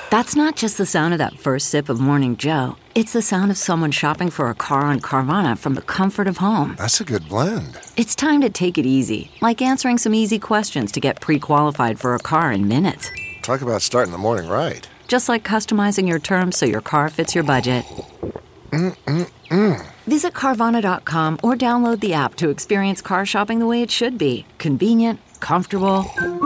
That's not just the sound of that first sip of Morning Joe. It's the sound of someone shopping for a car on Carvana from the comfort of home. That's a good blend. It's time to take it easy, like answering some easy questions to get pre-qualified for a car in minutes. Talk about starting the morning right. Just like customizing your terms so your car fits your budget. Visit Carvana.com or download the app to experience car shopping the way it should be. Convenient, comfortable.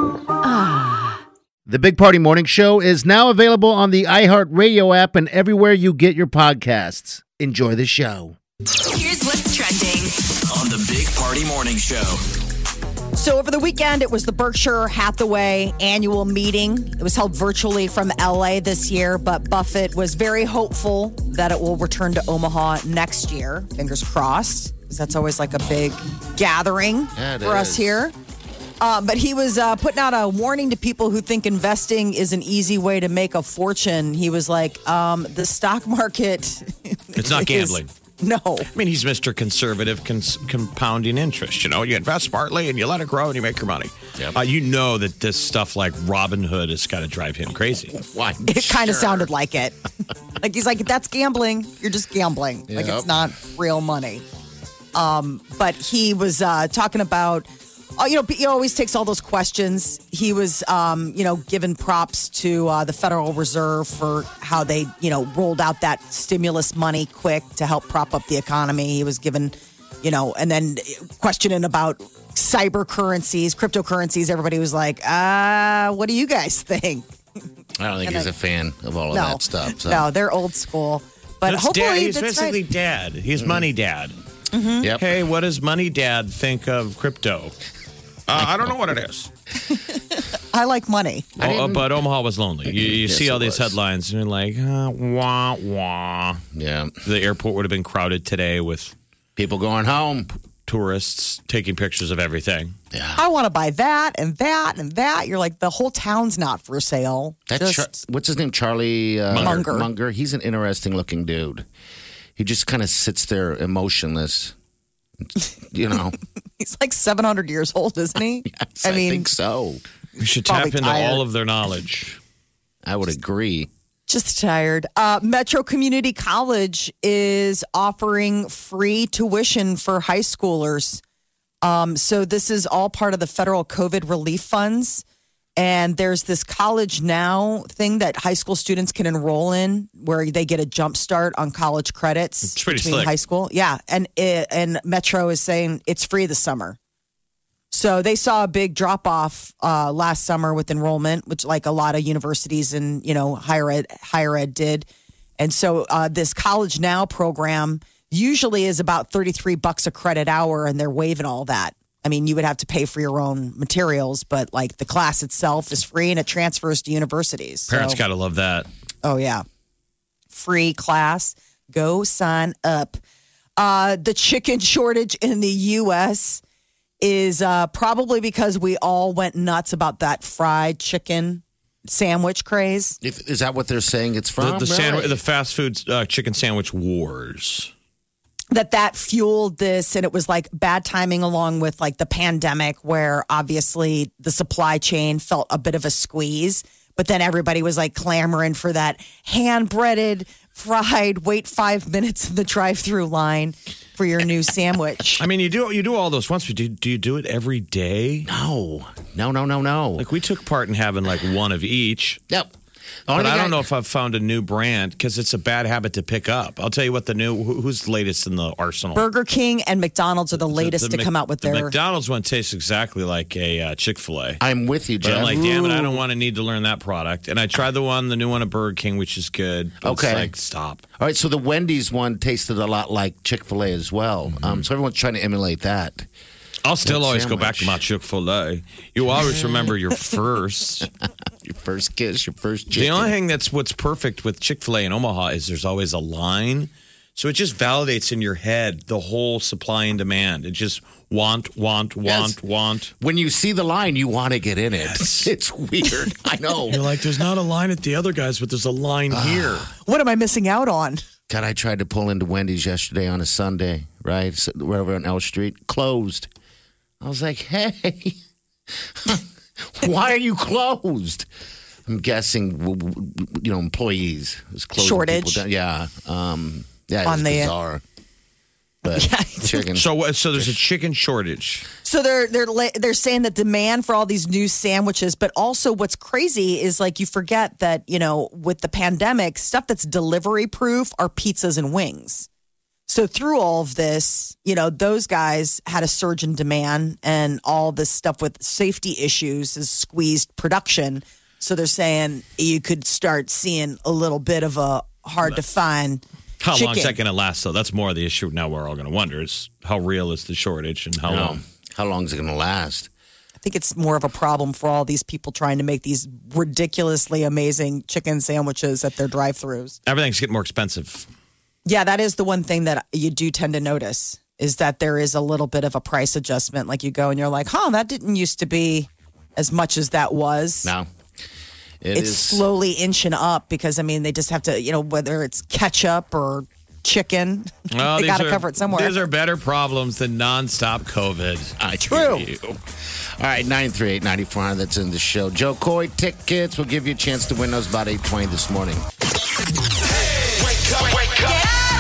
The Big Party Morning Show is now available on the iHeartRadio app and everywhere you get your podcasts. Enjoy the show. Here's what's trending on the Big Party Morning Show. So over the weekend, it was the Berkshire Hathaway annual meeting. It was held virtually from LA this year, but Buffett was very hopeful that it will return to Omaha next year. Fingers crossed, because that's always like a big gathering for us here. But he was putting out a warning to people who think investing is an easy way to make a fortune. He was like, the stock market... It's not gambling. No. I mean, he's Mr. Conservative compounding interest. You know, you invest smartly and you let it grow and you make your money. Yep. You know that this stuff like Robinhood has got to drive him crazy. Why? It kind of sounded like it. Like, he's like, that's gambling. You're just gambling. Like, it's not real money. But he was talking about... he always takes all those questions. He was, giving props to the Federal Reserve for how they, rolled out that stimulus money quick to help prop up the economy. He was given, and then questioning about cyber currencies, cryptocurrencies. Everybody was like, what do you guys think? I don't think he's a fan of all of that stuff. So. No, they're old school. But hopefully he's basically dad. He's money dad. Mm-hmm. Yep. Hey, what does money dad think of crypto? I don't know what it is. I like money. But Omaha was lonely. You see all these headlines and you're like, wah, wah. Yeah. The airport would have been crowded today with people going home. Tourists taking pictures of everything. Yeah. I want to buy that and that and that. You're like, the whole town's not for sale. What's his name? Charlie Munger. Munger. He's an interesting looking dude. He just kind of sits there emotionless. He's like 700 years old, isn't he? Yes, I think so. We should tap into all of their knowledge. I would agree. Just tired. Metro Community College is offering free tuition for high schoolers. So this is all part of the federal COVID relief funds. And there's this College Now thing that high school students can enroll in where they get a jump start on college credits it's pretty between slick. high school. Yeah. And Metro is saying it's free this summer. So they saw a big drop off last summer with enrollment, which like a lot of universities and, higher ed did. And so this College Now program usually is about $33 a credit hour, and they're waiving all that. I mean, you would have to pay for your own materials, but like the class itself is free and it transfers to universities. Parents got to love that. Oh, yeah. Free class. Go sign up. The chicken shortage in the U.S. is probably because we all went nuts about that fried chicken sandwich craze. Is that what they're saying it's from? The fast food chicken sandwich wars. That fueled this, and it was like bad timing along with like the pandemic where obviously the supply chain felt a bit of a squeeze, but then everybody was like clamoring for that hand-breaded, fried, wait 5 minutes in the drive-through line for your new sandwich. I mean, you do all those once, but do you do it every day? No. Like we took part in having like one of each. Yep. But I don't know if I've found a new brand because it's a bad habit to pick up. I'll tell you what who's latest in the arsenal. Burger King and McDonald's are the latest to come out with their... The McDonald's one tastes exactly like a Chick-fil-A. I'm with you, Jeff. But I'm like, damn it, I don't want to need to learn that product. And I tried the new one at Burger King, which is good. But okay. It's like, stop. All right, so the Wendy's one tasted a lot like Chick-fil-A as well. Mm-hmm. So everyone's trying to emulate that. I'll still always go back to my Chick-fil-A. You always remember your first. Your first kiss, your first chicken. The only thing what's perfect with Chick-fil-A in Omaha is there's always a line. So it just validates in your head the whole supply and demand. It just want. When you see the line, you want to get in it. Yes. It's weird. I know. You're like, there's not a line at the other guys, but there's a line here. What am I missing out on? God, I tried to pull into Wendy's yesterday on a Sunday, right? So we're over on L Street. Closed. I was like, hey, why are you closed? I'm guessing, employees. It's closing Shortage. people down. Yeah. Yeah, On it's the- bizarre. But chicken. So there's a chicken shortage. So they're saying that demand for all these new sandwiches, but also what's crazy is like you forget that, with the pandemic, stuff that's delivery proof are pizzas and wings. So through all of this, those guys had a surge in demand, and all this stuff with safety issues has squeezed production. So they're saying you could start seeing a little bit of a hard to find. How long is chicken. that going to last, though? That's more of the issue now we're all going to wonder is how real is the shortage and how long? How long is it going to last? I think it's more of a problem for all these people trying to make these ridiculously amazing chicken sandwiches at their drive-thrus. Everything's getting more expensive. Yeah, that is the one thing that you do tend to notice is that there is a little bit of a price adjustment. Like you go and you're like, that didn't used to be as much as that was. No. It's slowly inching up because, they just have to, whether it's ketchup or chicken, Well, they got to cover it somewhere. These are better problems than nonstop COVID. True. All right, 938-9400, that's in the show. Joe Coy tickets. We'll give you a chance to win those about 8:20 this morning. Wake up.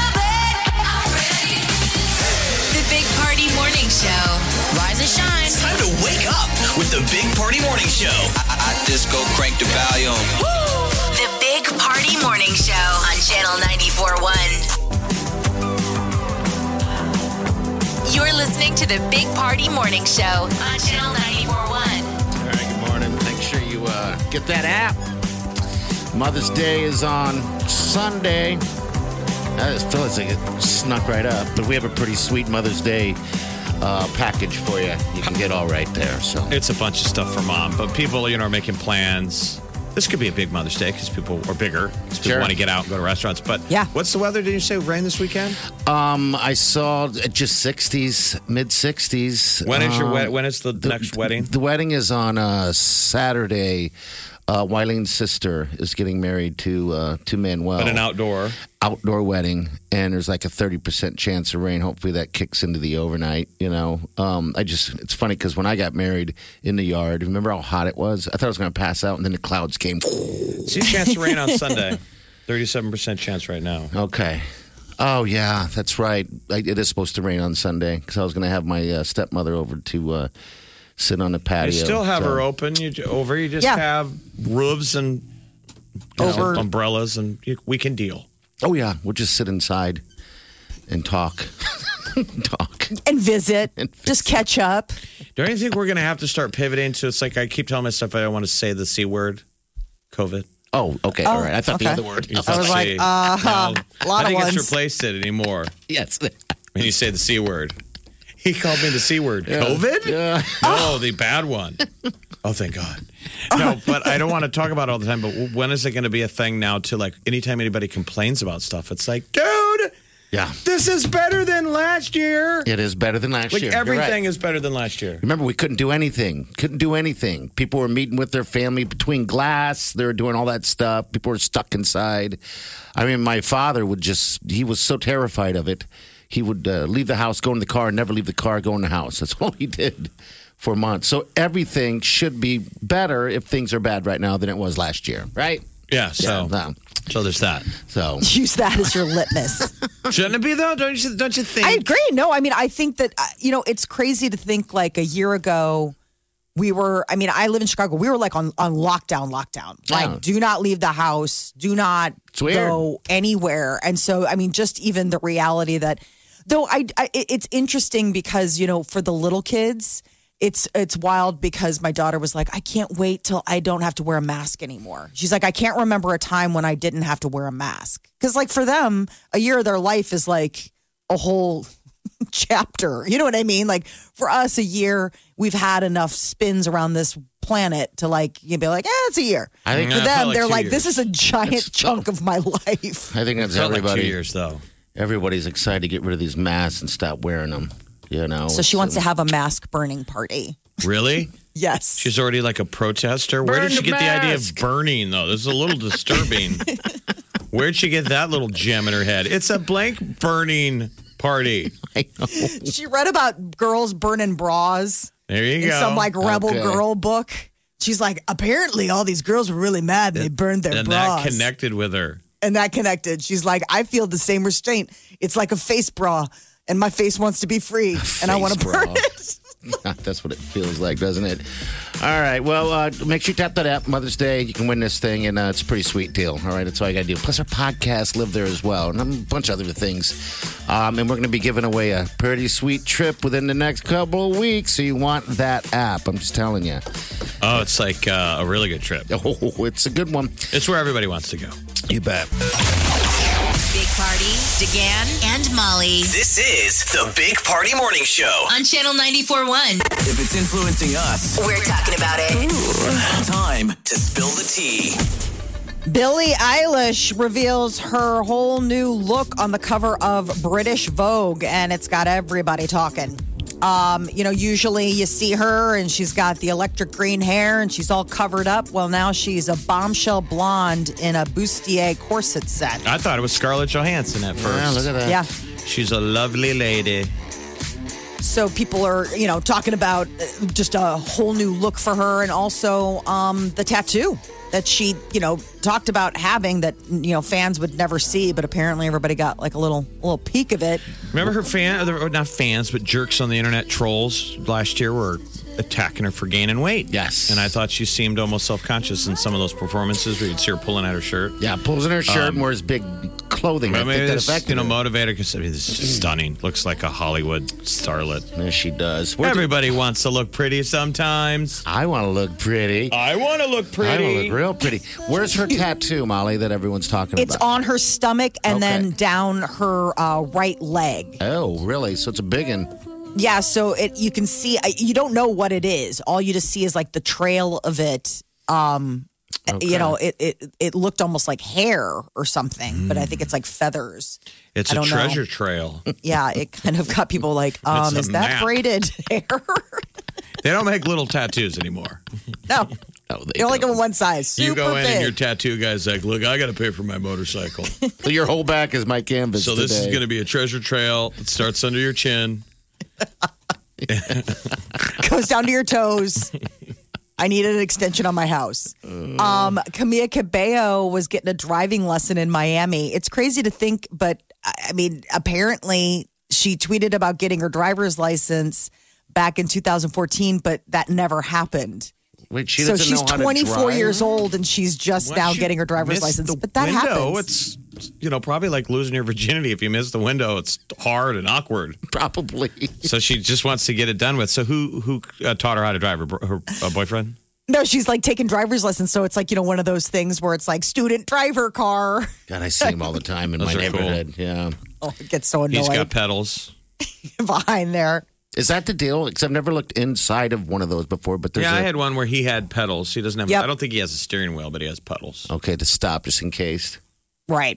The Big Party Morning Show. Rise and shine. It's time to wake up with the Big Party Morning Show. I disco crank the volume. The Big Party Morning Show on Channel 94.1. You're listening to the Big Party Morning Show on Channel 94.1. All right, good morning. Make sure you get that app. Mother's Day is on Sunday. I just feel like it snuck right up, but we have a pretty sweet Mother's Day package for you. You can get all right there. So It's a bunch of stuff for mom, but people, are making plans. This could be a big Mother's Day because people are bigger. Because people Sure. want to get out and go to restaurants. But Yeah. what's the weather? Did you say rain this weekend? I saw just 60s, mid 60s. When is when is the next wedding? The wedding is on Saturday. Wylene's sister is getting married to Manuel. But an outdoor wedding, and there's like a 30% chance of rain. Hopefully that kicks into the overnight. It's funny because when I got married in the yard, remember how hot it was? I thought I was going to pass out, and then the clouds came. See a chance of rain on Sunday. 37% chance right now. Okay. Oh yeah, that's right. It is supposed to rain on Sunday because I was going to have my stepmother over to sit on the patio. You still have her open. You just Yeah. have roofs and umbrellas, and we can deal. Oh yeah, we'll just sit inside and talk. and visit. Just catch up. Don't you think we're going to have to start pivoting to? It's like I keep telling myself I don't want to say the C word, COVID. Oh, okay. All right. I thought the other word. I was like, No, a lot I of think ones. it's replaced it anymore. Yes. When you say the C word. He called me the C word. COVID? Yeah. No, the bad one. Oh, thank God. No, but I don't want to talk about it all the time. But when is it going to be a thing now to like anytime anybody complains about stuff, it's like, dude, Yeah. this is better than last year. It is better than last Like year. You're everything right. is better than last year. Remember, we couldn't do anything. People were meeting with their family between glass. They were doing all that stuff. People were stuck inside. I mean, my father he was so terrified of it. He would leave the house, go in the car, never leave the car, go in the house. That's all he did for months. So everything should be better if things are bad right now than it was last year, right? Yeah, so there's that. So Use that as your litmus. Shouldn't it be though? Don't you think? I agree. No, I think that, it's crazy to think like a year ago, I live in Chicago. We were like on lockdown. Like, do not leave the house. Do not go anywhere. And so, just even the reality that, though it's interesting because, for the little kids, it's wild because my daughter was like, I can't wait till I don't have to wear a mask anymore. She's like, I can't remember a time when I didn't have to wear a mask. Because like for them, a year of their life is like a whole chapter. You know what I mean? Like for us, a year, we've had enough spins around this planet to like, you'd be like, it's a year. I think For it them, felt like they're 2 like, years. this is a giant chunk of my life. I think that's Felt like everybody. 2 years though. Everybody's excited to get rid of these masks and stop wearing them. So she wants to have a mask burning party. Really? Yes. She's already like a protester. Where Burn did she the get the idea of mask. burning, though? This is a little disturbing. Where'd she get that little gem in her head? It's a blank burning party. I know. She read about girls burning bras There you in go. some like rebel Okay. girl book. She's like, apparently all these girls were really mad and they burned their and bras. that connected with her. And that connected. She's like, I feel the same restraint. It's like a face bra, and my face wants to be free, and I want to burn it. That's what it feels like, doesn't it? All right. Well, make sure you tap that app, Mother's Day. You can win this thing, and it's a pretty sweet deal. All right. That's all you got to do. Plus, our podcast live there as well, and a bunch of other things. And we're going to be giving away a pretty sweet trip within the next couple of weeks. So you want that app. I'm just telling you. Oh, it's like a really good trip. Oh, it's a good one. It's where everybody wants to go. You bet. Big Party, DeGan, and Molly This is the Big Party Morning Show. on Channel 94.1. If it's influencing us, We're talking about it. time to spill the tea. Billie Eilish reveals her whole new look on the cover of British Vogue, and it's got everybody talking. Usually you see her and she's got the electric green hair and she's all covered up. Well, now she's a bombshell blonde in a bustier corset set. I thought it was Scarlett Johansson at first. Yeah, look at that. Yeah. She's a lovely lady. So people are, talking about just a whole new look for her, and also the tattoo that she, talked about having that, fans would never see, but apparently everybody got like a little peek of it. Remember her not fans, but jerks on the internet, trolls last year were attacking her for gaining weight. Yes. And I thought she seemed almost self-conscious in some of those performances where you'd see her pulling at her shirt. Yeah, pulls in her shirt and wears big clothing. I Maybe think that it's, affected her. motivator because this is just stunning. Looks like a Hollywood starlet. Yes, she does. Everybody wants to look pretty sometimes. I want to look pretty. I want to look I pretty. want to look real pretty. Where's her tattoo, Molly, that everyone's talking It's about? on her stomach and Okay. then down her right leg. Oh, really? So it's a big one. Yeah, so you can see, you don't know what it is. All you just see is like the trail of it. It looked almost like hair or something, but I think it's like feathers. It's I a don't know. treasure trail. Yeah, it kind of got people like, It's a is that map. braided hair? They don't make little tattoos anymore. No. Oh, they You only don't. go in one size. Super You go in big. and your tattoo guy's like, look, I got to pay for my motorcycle. So your whole back is my canvas So this is today. going to be a treasure trail. It starts under your chin. Goes down to your toes. I need an extension on my house. Camila Cabello was getting a driving lesson in Miami. It's crazy to think, but I mean, apparently she tweeted about getting her driver's license back in 2014, but that never happened. Wait, she So doesn't she's know how to 24 drive? years old and she's just Once now you getting her driver's miss license. the But that window, happens. It's, probably like losing your virginity. If you miss the window, it's hard and awkward. Probably. So she just wants to get it done with. So who taught her how to drive? Her boyfriend? No, she's like taking driver's lessons. So it's like, one of those things where it's like student driver car. God, I see him all the time in Those my are cool. neighborhood. Yeah. Oh, it gets so He's got annoyed pedals. behind there. Is that the deal? Because I've never looked inside of one of those before, but there's Yeah, I had one where he had pedals. He doesn't have. Yep. I don't think he has a steering wheel, but he has pedals. okay to stop just in case. Right.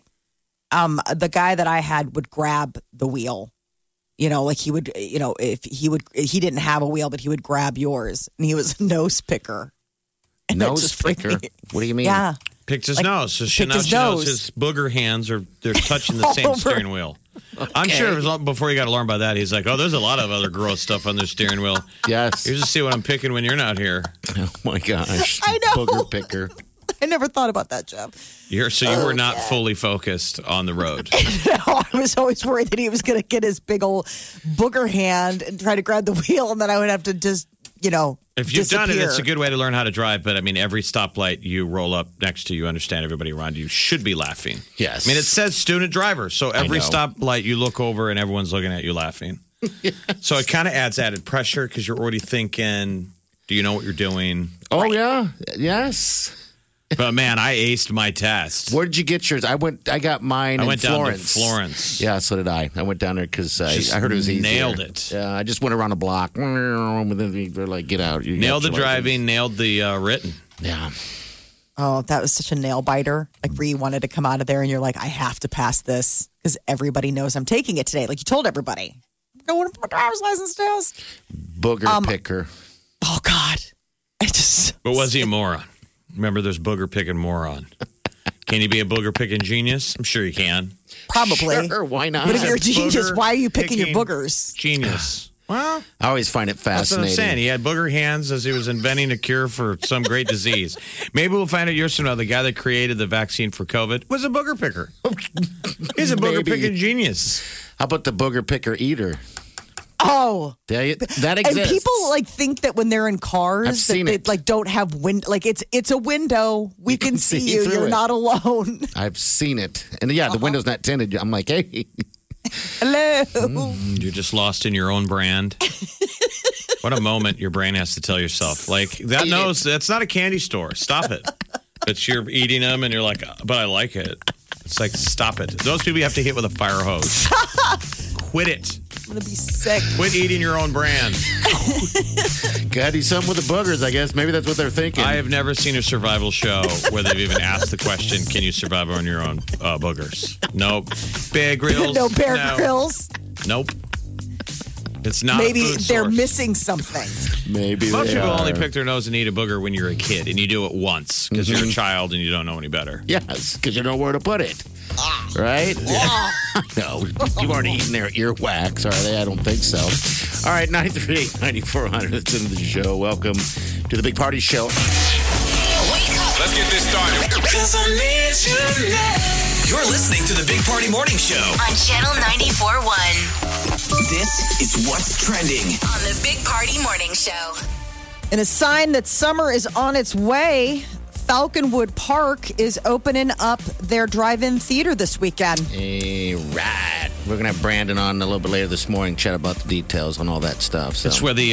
The guy that I had would grab the wheel. Like he would, if he didn't have a wheel, but he would grab yours, and he was a nose picker. And that Nose just freaked picker? me- What do you mean? Yeah. Picked his Like, nose. So picked his she knows nose. his booger hands they're touching the same Over. steering wheel. I'm sure it was long before he got alarmed by that. He's like, oh, there's a lot of other gross stuff on their steering wheel. Yes. You just see what I'm picking when you're not here. Oh my gosh. I know. Booger picker. I never thought about that, Jeff. You were not fully focused on the road. I was always worried that he was going to get his big old booger hand and try to grab the wheel, and then I would have to just, If you've done it, disappear. it's a good way to learn how to drive. But I mean, every stoplight you roll up next to, you understand everybody around you should be laughing. Yes. I mean, it says student driver. So every know. stoplight you look over and everyone's looking at you laughing. So it kind of adds added pressure because you're already thinking, do you know what you're doing? Oh yeah. Yes. But man, I aced my test. Where did you get yours? I got mine I in went down to Florence. Florence. Yeah, so did I. I went down there because Just I heard it was easier. nailed it. Yeah, I just went around a block. They're like, get out. You Nailed got the your driving, nailed the written. license. Yeah. Oh, that was such a nail biter. Like where you wanted to come out of there and you're like, I have to pass this because everybody knows I'm taking it today. Like you told everybody. I'm going for my driver's license test. Booger picker. Oh, God. I just. But was he a moron? Remember, there's booger picking moron. Can you be a booger picking genius? I'm sure you can. Probably. Sure, why not? But if you're a genius, Booger why are you picking your picking boogers? Genius. Well, I always find it that's what I'm fascinating. saying. He had booger hands as he was inventing a cure for some great disease. Maybe we'll find out years from now the guy that created the vaccine for COVID was a booger picker. He's a booger Maybe. picking genius. How about the booger picker eater? Oh. That And exists. people like think that when they're in cars I've that seen they it. like don't have like it's a window. We can see you. through You're it. not alone. I've seen it. And yeah, the window's not tinted. I'm like, hey. Hello. You're just lost in your own brand. What a moment your brain has to tell yourself. Like, that knows that's not a candy store. Stop it. But you're eating them and you're like, but I like it. It's like, stop it. Those people you have to hit with a fire hose. Quit it. I'm gonna be sick. Quit eating your own brand. Gotta do something with the boogers, I guess. Maybe that's what they're thinking. I have never seen a survival show where they've even asked the question, can you survive on your own boogers? Nope. Bear Grylls? No Bear Grylls. Nope. It's not Maybe a food they're source. missing something. Maybe Most they people are. only pick their nose and eat a booger when you're a kid, and you do it once because you're a child and you don't know any better. Yes, because you know where to put it. Right? No, you aren't eating their earwax, are they? I don't think so. All right, 938-9400. That's into the show. Welcome to the Big Party Show. Wake up Let's get this started. You're listening to the Big Party Morning Show. on Channel 94.1 This is what's trending. on the Big Party Morning Show. And a sign that summer is on its way. Falconwood Park is opening up their drive-in theater this weekend. Hey, right. We're going to have Brandon on a little bit later this morning, chat about the details on all that stuff. So. It's where the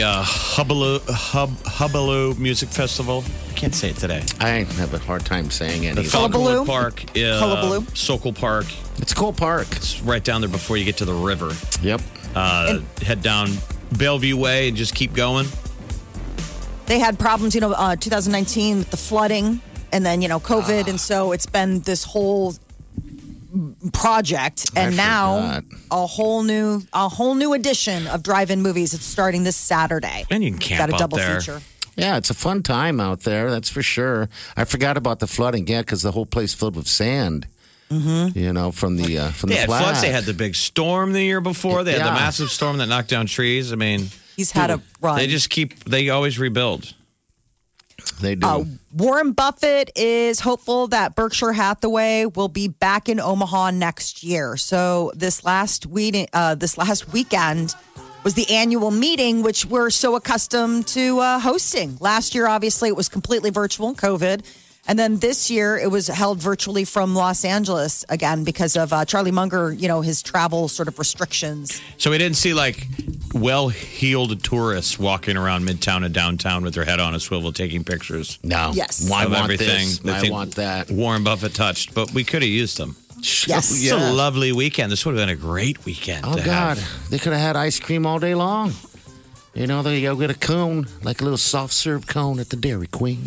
Hubaloo Music Festival. I can't say it today. I have a hard time saying it. The either. Hullabaloo? Falconwood Park, Hullabaloo? Sokol Park. It's a cool park. It's right down there before you get to the river. Yep. Head down Bellevue Way and just keep going. They had problems, 2019 with the flooding and then, COVID. And so it's been this whole project. And I now forgot. a whole new edition of drive-in movies. It's starting this Saturday. And you can camp Got a out double there. feature. Yeah, it's a fun time out there. That's for sure. I forgot about the flooding. Yeah, because the whole place filled with sand. Mm-hmm. From the They had floods. They flat. had the big storm the year before. They had the Yeah. massive storm that knocked down trees. I mean, He's had a run. they always rebuild. They do. Warren Buffett is hopeful that Berkshire Hathaway will be back in Omaha next year. So this last weekend was the annual meeting, which we're so accustomed to hosting. Last year, obviously, it was completely virtual, COVID. And then this year, it was held virtually from Los Angeles again because of Charlie Munger, his travel sort of restrictions. So we didn't see like well-heeled tourists walking around Midtown and downtown with their head on a swivel taking pictures No. Yes. I of want everything. this. they I think want that. Warren Buffett touched, but we could have used them. Yes. It's a lovely weekend. This would have been a great weekend. Oh, to God. have. They could have had ice cream all day long. They go get a cone, like a little soft serve cone at the Dairy Queen.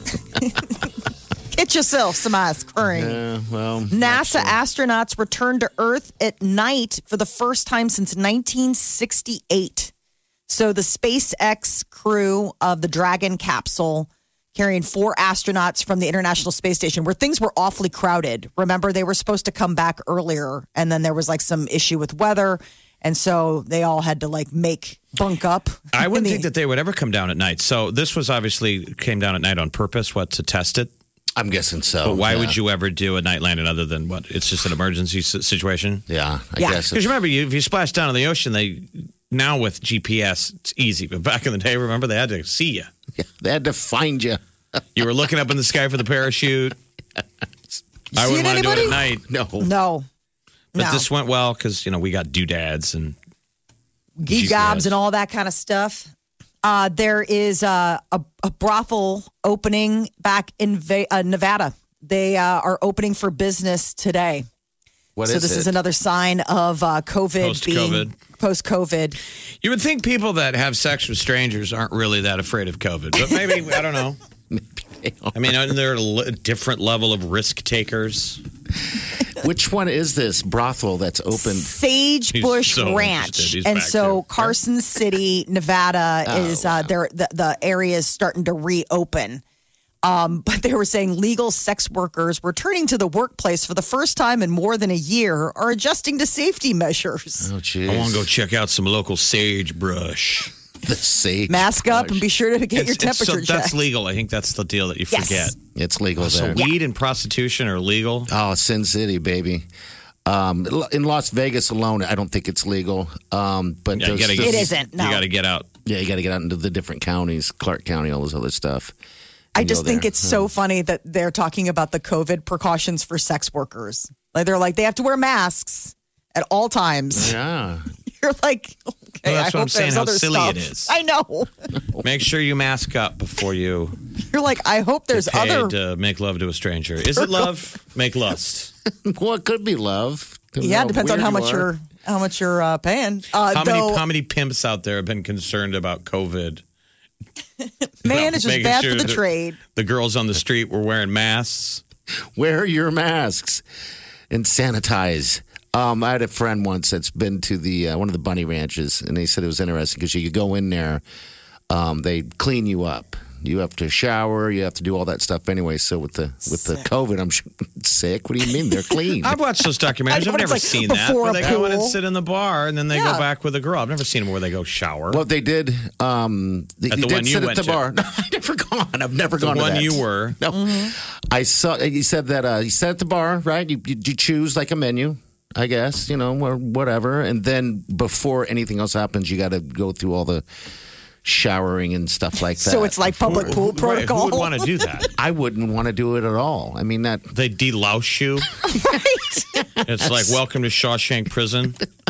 Get yourself some ice cream. Yeah, well. NASA astronauts returned to Earth at night for the first time since 1968. So the SpaceX crew of the Dragon capsule carrying 4 astronauts from the International Space Station, where things were awfully crowded. Remember, they were supposed to come back earlier, and then there was like some issue with weather. And so they all had to bunk up. I wouldn't think that they would ever come down at night. So this was obviously came down at night on purpose, to test it? I'm guessing so. But why would you ever do a night landing other than what? It's just an emergency situation? Yeah, I Yeah. guess. Because remember, if you splash down in the ocean, now with GPS, it's easy. But back in the day, remember, they had to see you. They had to find you. You were looking up in the sky for the parachute. I Seeing wouldn't want to do it anybody? at night. No. No. But this went well because, we got doodads and Geek GPS. gobs and all that kind of stuff. There is a brothel opening back in Nevada. They are opening for business today. What So is this it? is another sign of COVID being post-COVID. You would think people that have sex with strangers aren't really that afraid of COVID, but maybe, I don't know. I mean, aren't there a different level of risk takers? Which one is this brothel that's opened? Sagebush He's so Ranch. interested. He's And back so there. Carson City, Nevada is the area is starting to reopen. But they were saying legal sex workers returning to the workplace for the first time in more than a year are adjusting to safety measures. Oh, jeez. I want to go check out some local sagebrush. The sage. Mask up and be sure to get your temperature so checked. That's legal. I think that's the deal that you Yes. forget. It's legal So there. weed and prostitution are legal. Oh, Sin City, baby. In Las Vegas alone, I don't think it's legal. But Yeah, there's- It isn't, no. You got to get out. Yeah, you got to get out into the different counties, Clark County, all this other stuff. I And just go think there. it's so funny that they're talking about the COVID precautions for sex workers. Like they're like they have to wear masks at all times. Yeah. You're like, okay, Well, that's I what I'm hope saying, there's how other silly stuff. it is. I know. Make sure you mask up before you You're like, I hope there's get paid other. to make love to a stranger. Is it love? Make lust. Well, it could be love. Yeah, it depends on weird how you much are. you're paying. How many pimps out there have been concerned about COVID? Man, it's just Making bad sure for the that trade. The girls on the street were wearing masks. Wear your masks and sanitize. I had a friend once that's been to the one of the bunny ranches, and they said it was interesting because you go in there, they clean you up. You have to shower. You have to do all that stuff anyway. So with the COVID, I'm sick. What do you mean? They're clean. I've watched those I documentaries. know, I've it's never like seen that. before Where a they go in and pool. sit in the bar and then they Yeah. go back with a girl. I've never seen them where they go shower. Well, they did. At the one you sit went at the to. bar. No, I've never gone. I've never the gone to one that. you were. No, I saw. You said that you sat at the bar, right? You choose like a menu, I guess, or whatever, and then before anything else happens, you got to go through all the showering and stuff like that. So it's like public pool Right, protocol. who would want to do that? I wouldn't want to do it at all. I mean that. They delouse you. It's like, welcome to Shawshank Prison.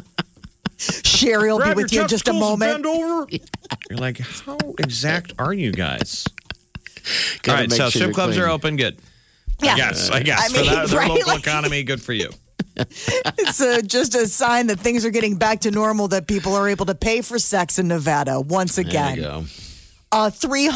Sherry will be with you in just a moment. Bend over. You're like, how exact are you guys? All Gotta right, make so sure strip you're clubs clean. are open. Good. Yeah. I guess. I For mean, that, their right? local Like- economy, good for you. It's just a sign that things are getting back to normal, that people are able to pay for sex in Nevada once There again. you go. A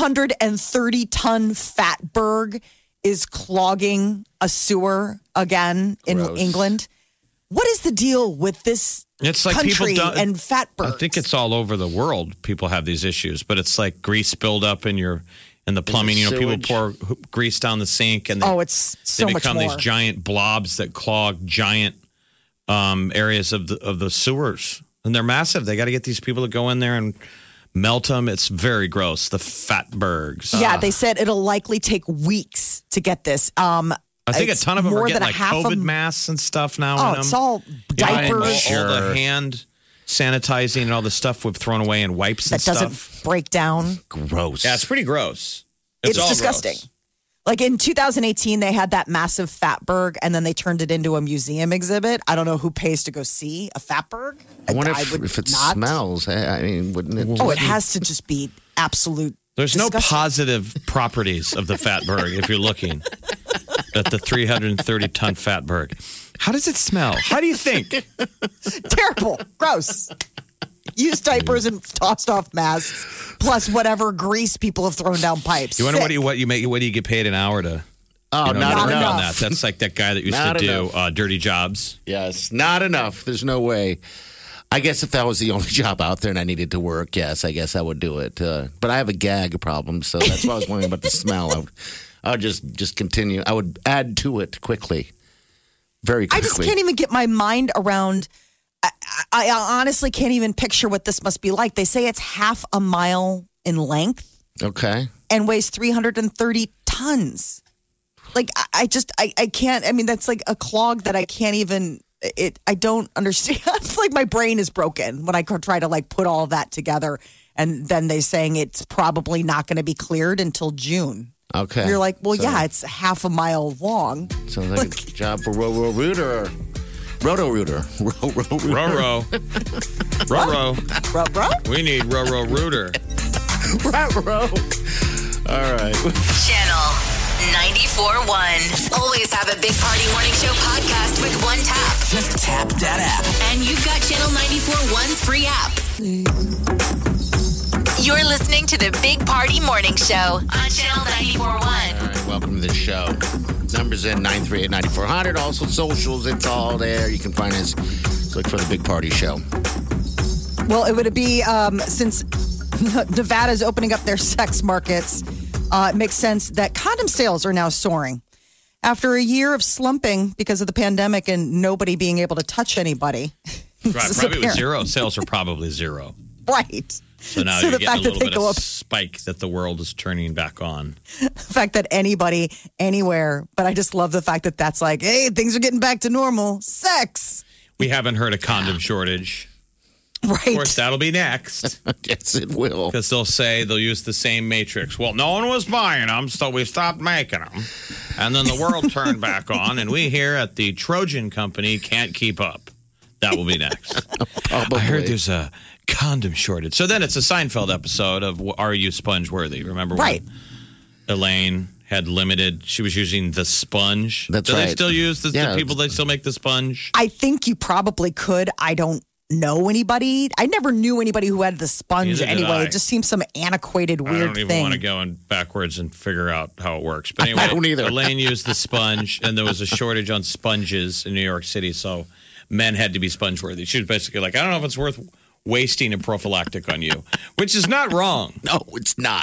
330-ton fatberg is clogging a sewer again in Gross. England. What is the deal with this It's like country people don't. and fatbergs? I think it's all over the world. People have these issues, but it's like grease buildup in the plumbing. People sewage. pour grease down the sink, and it's so they much become more. these giant blobs that clog giant areas of the sewers, and they're massive. They got to get these people to go in there and melt them. It's very gross. The fatbergs. Yeah, they said it'll likely take weeks to get this. I think a it's ton of them more are than getting a like half COVID of- masks and stuff now. Oh, in it's them. all diapers. All the hand sanitizing and all the stuff we've thrown away and wipes and that doesn't stuff. break down. Gross. Yeah, it's pretty gross. It's all disgusting. gross. Like in 2018, they had that massive fatberg, and then they turned it into a museum exhibit. I don't know who pays to go see a fatberg. I wonder would if it not. smells. I mean, wouldn't it? Oh, it has to just be absolute. There's no disgusting. positive properties of the fatberg if you're looking at the 330-ton fatberg. How does it smell? How do you think? Terrible, gross. Used diapers and tossed off masks, plus whatever grease people have thrown down pipes. You wonder Sick. what you get paid an hour to? Oh, to not work enough. on that. That's like that guy that used Not to do enough. dirty jobs. Yes, not enough. There's no way. I guess if that was the only job out there and I needed to work, yes, I guess I would do it. But I have a gag problem, so that's why I was wondering about the smell. I would just continue. I would add to it quickly, very quickly. I just can't even get my mind around. I honestly can't even picture what this must be like. They say it's half a mile in length Okay. and weighs 330 tons. Like I can't. I mean, that's like a clog that I can't even. I don't understand. It's like my brain is broken when I try to like put all of that together, and then they're saying it's probably not going to be cleared until June. Okay. You're like, well, So- yeah, it's half a mile long. Sounds like a job for Roto-Rooter. Roto-Rooter. Roto-Rooter. Roro. Roro. Bro. We need Roro Rooter. All right. Channel 94.1. Always have a Big Party Morning Show podcast with one tap. Just tap that app. And you've got Channel 94.1's free app. You're listening to the Big Party Morning Show on Channel 94.1. All right, welcome to the show. Numbers in 938-9400. Also socials, it's all there. You can find us. Look for the Big Party Show. Well, it would be since Nevada's opening up their sex markets. it makes sense that condom sales are now soaring. After a year of slumping because of the pandemic and nobody being able to touch anybody. Right, probably was zero. Sales are probably zero. Right. So now you're getting a little bit of spike that the world is turning back on. The fact that anybody, anywhere, but I just love the fact that that's like, hey, things are getting back to normal. Sex. We haven't heard a condom shortage. Right. Of course, that'll be next. Yes, it will. Because they'll use the same matrix. Well, no one was buying them, so we stopped making them. And then the world turned back on, and we here at the Trojan Company can't keep up. That will be next. Probably. I heard there's a condom shortage. So then it's a Seinfeld episode of Are You Sponge Worthy? Remember when Elaine had limited, she was using the sponge. That's Do right. they still use the people, they still make the sponge? I think you probably could. I don't know anybody. I never knew anybody who had the sponge anyway. It just seems some antiquated, weird thing. I don't even want to go in backwards and figure out how it works. But anyway, I don't either. Elaine used the sponge, and there was a shortage on sponges in New York City, so men had to be sponge worthy. She was basically like, I don't know if it's worth wasting a prophylactic on you, which is not wrong. No, it's not.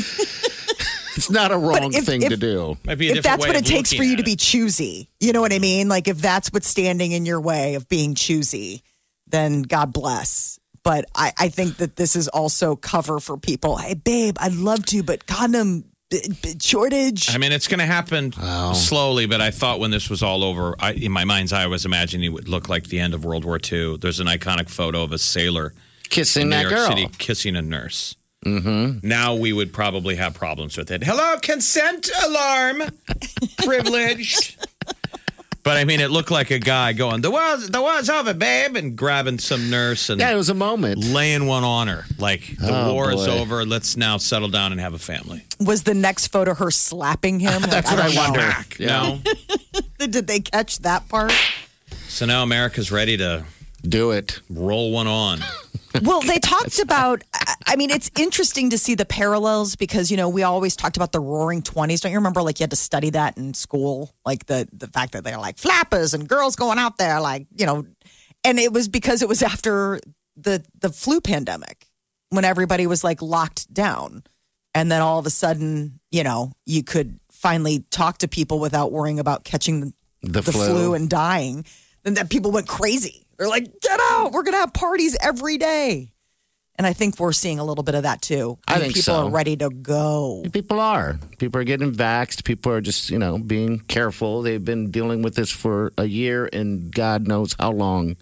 It's not a wrong thing to do. Might be a if that's way what of it takes for looking you at to be choosy, you know what I mean? Like if that's what's standing in your way of being choosy, then God bless. But I think that this is also cover for people. Hey, babe, I'd love to, but condom shortage. I mean, it's going to happen slowly, but I thought when this was all over, in my mind's eye, I was imagining it would look like the end of World War II. There's an iconic photo of a sailor Kissing in New that York girl. City kissing a nurse. Mm-hmm. Now we would probably have problems with it. Hello, consent alarm. Privileged. But I mean, it looked like a guy going, the war's over, babe, and grabbing some nurse and it was a moment. laying one on her. Like, the war is boy. over. Let's now settle down and have a family. Was the next photo her slapping him? That's what I wonder. No. Did they catch that part? So now America's ready to Do it. roll one on. Well, they talked about, I mean, it's interesting to see the parallels because, you know, we always talked about the roaring 20s. Don't you remember, like, you had to study that in school? Like, the fact that they're like flappers and girls going out there, like, you know, and it was because it was after the flu pandemic when everybody was, like, locked down. And then all of a sudden, you know, you could finally talk to people without worrying about catching the flu and dying. Then that people went crazy. They're like, get out. We're going to have parties every day. And I think we're seeing a little bit of that, too. I think people so. are ready to go. People are. People are getting vaxxed. People are just, you know, being careful. They've been dealing with this for a year and God knows how long.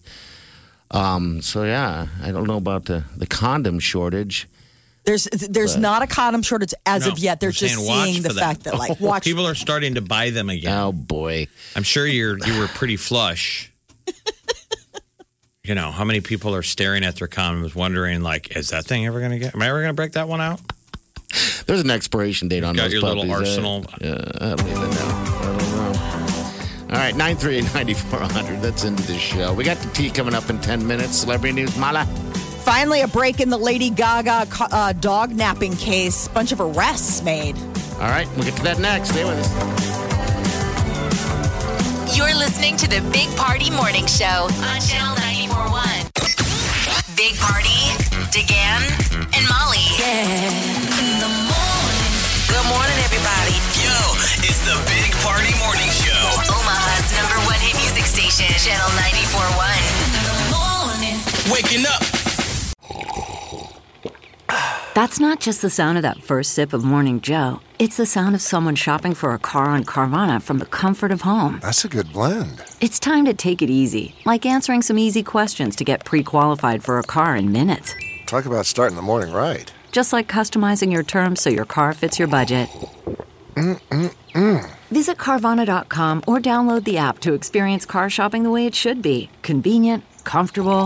So, yeah, I don't know about the condom shortage. There's not a condom shortage as of yet. They're just seeing the fact that, like, watch. People are starting to buy them again. Oh, boy. I'm sure you were pretty flush. You know, how many people are staring at their condoms wondering, like, is that thing ever going to get? Am I ever going to break that one out? There's an expiration date on Got those your puppies. little arsenal. I don't even know. All right, 938-9400. That's into this show. We got the tea coming up in 10 minutes. Celebrity News, Mala. Finally, a break in the Lady Gaga dog napping case. Bunch of arrests made. All right, we'll get to that next. Stay with us. You're listening to the Big Party Morning Show on Channel 94.1. Big Party, DeGan, and Molly. Yeah. In the morning. Good morning, everybody. Yo, it's the Big Party Morning Show. Omaha's #1 hit music station, Channel 94.1. In the morning. Waking up. That's not just the sound of that first sip of Morning Joe. It's the sound of someone shopping for a car on Carvana from the comfort of home. That's a good blend. It's time to take it easy, like answering some easy questions to get pre-qualified for a car in minutes. Talk about starting the morning right. Just like customizing your terms so your car fits your budget. Visit Carvana.com or download the app to experience car shopping the way it should be. Convenient, comfortable.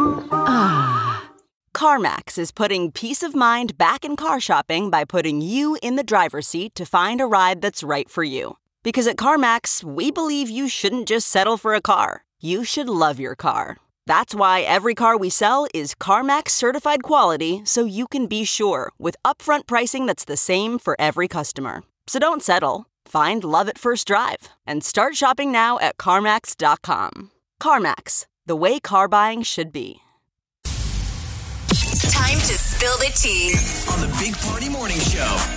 CarMax is putting peace of mind back in car shopping by putting you in the driver's seat to find a ride that's right for you. Because at CarMax, we believe you shouldn't just settle for a car. You should love your car. That's why every car we sell is CarMax certified quality, so you can be sure with upfront pricing that's the same for every customer. So don't settle. Find love at first drive and start shopping now at CarMax.com. CarMax, the way car buying should be. Time to spill the tea. On the Big Party Morning Show.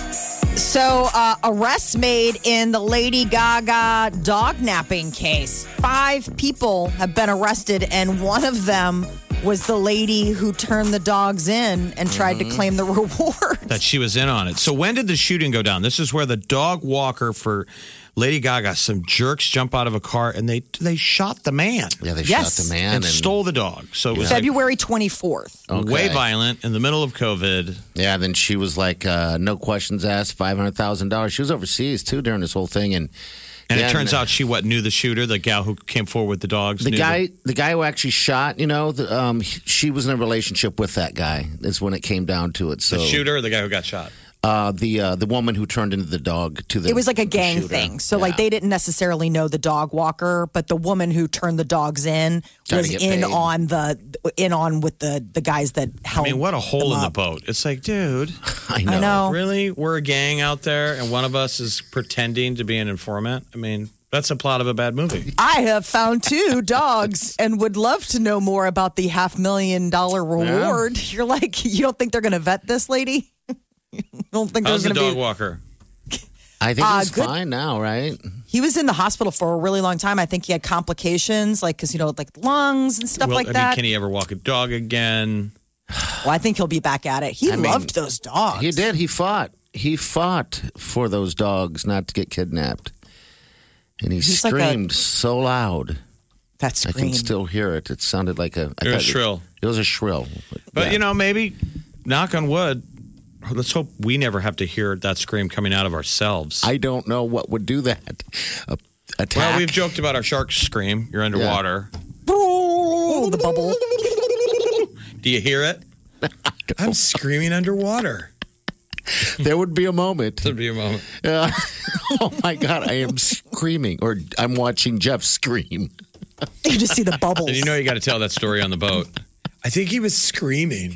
So, arrests made in the Lady Gaga dog napping case. 5 people have been arrested, and one of them was the lady who turned the dogs in and tried to claim the reward. That she was in on it. So when did the shooting go down? This is where the dog walker for Lady Gaga, some jerks jump out of a car and they shot the man. Yeah, they Yes. shot the man And stole the dog. So it was February 24th. way violent in the middle of COVID. Yeah, then she was like, no questions asked, $500,000. She was overseas too during this whole thing, and it turns out she knew the shooter, the gal who came forward with the dogs. The guy who actually shot, she was in a relationship with that guy. Is when it came down to it. So the shooter or the guy who got shot? The woman who turned into the dog to the. It was like a gang shooter. thing. So, like, they didn't necessarily know the dog walker, but the woman who turned the dogs in Trying was to get in paid. on with the guys that held. I mean, what a hole them in the up. boat. It's like, dude, I know. I know. really? We're a gang out there and one of us is pretending to be an informant? I mean, that's the plot of a bad movie. I have found 2 dogs and would love to know more about the $500,000 reward. You're like, you don't think they're going to vet this lady? You don't think How's there's the going to dog be? walker? I think he's good. fine now, right? He was in the hospital for a really long time. I think he had complications, like because like lungs and stuff like that. Can he ever walk a dog again? Well, I think he'll be back at it. He loved those dogs. He did. He fought. He fought for those dogs not to get kidnapped, and he He's like screamed so loud. That I scream. can still hear it. It sounded like a. It was shrill. It was a shrill. But, Yeah. maybe, knock on wood, let's hope we never have to hear that scream coming out of ourselves. I don't know what would do that. Attack. Well, we've joked about our shark scream. You're underwater. Oh, the bubble. Do you hear it? I'm screaming underwater. There would be a moment. There'd be a moment. Oh my God, I am screaming, or I'm watching Jeff scream. You just see the bubbles. And you got to tell that story on the boat. I think he was screaming.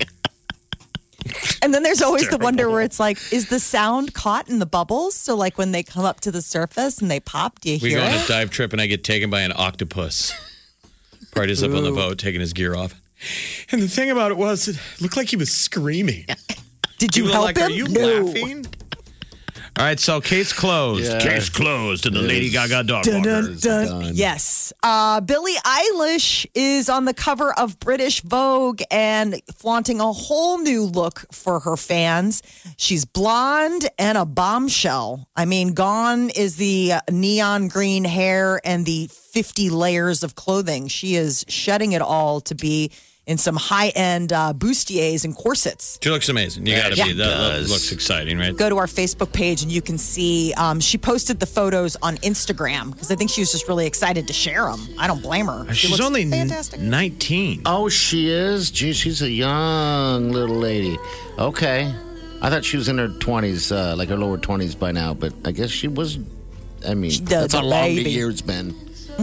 And then there's always the wonder where it's like, is the sound caught in the bubbles? So like when they come up to the surface and they pop, do you We hear go on a it? dive trip and I get taken by an octopus. Party's up on the boat, taking his gear off. And the thing about it was, it looked like he was screaming. Did you were help like, him? Are you No. laughing? All right, so case closed. Yeah. Case closed to the Lady Gaga dog Dun, walker. dun, dun. done. Yes. Billie Eilish is on the cover of British Vogue and flaunting a whole new look for her fans. She's blonde and a bombshell. I mean, gone is the neon green hair and the 50 layers of clothing. She is shedding it all to be in some high-end bustiers and corsets. She looks amazing. You got to Yeah. be. That looks exciting, right? Go to our Facebook page and you can see she posted the photos on Instagram because I think she was just really excited to share them. I don't blame her. She She's looks only fantastic. 19. Oh, she is? Gee, she's a young little lady. Okay. I thought she was in her 20s, like her lower 20s by now, but I guess she was. I mean, does that's how a long the baby. year's been.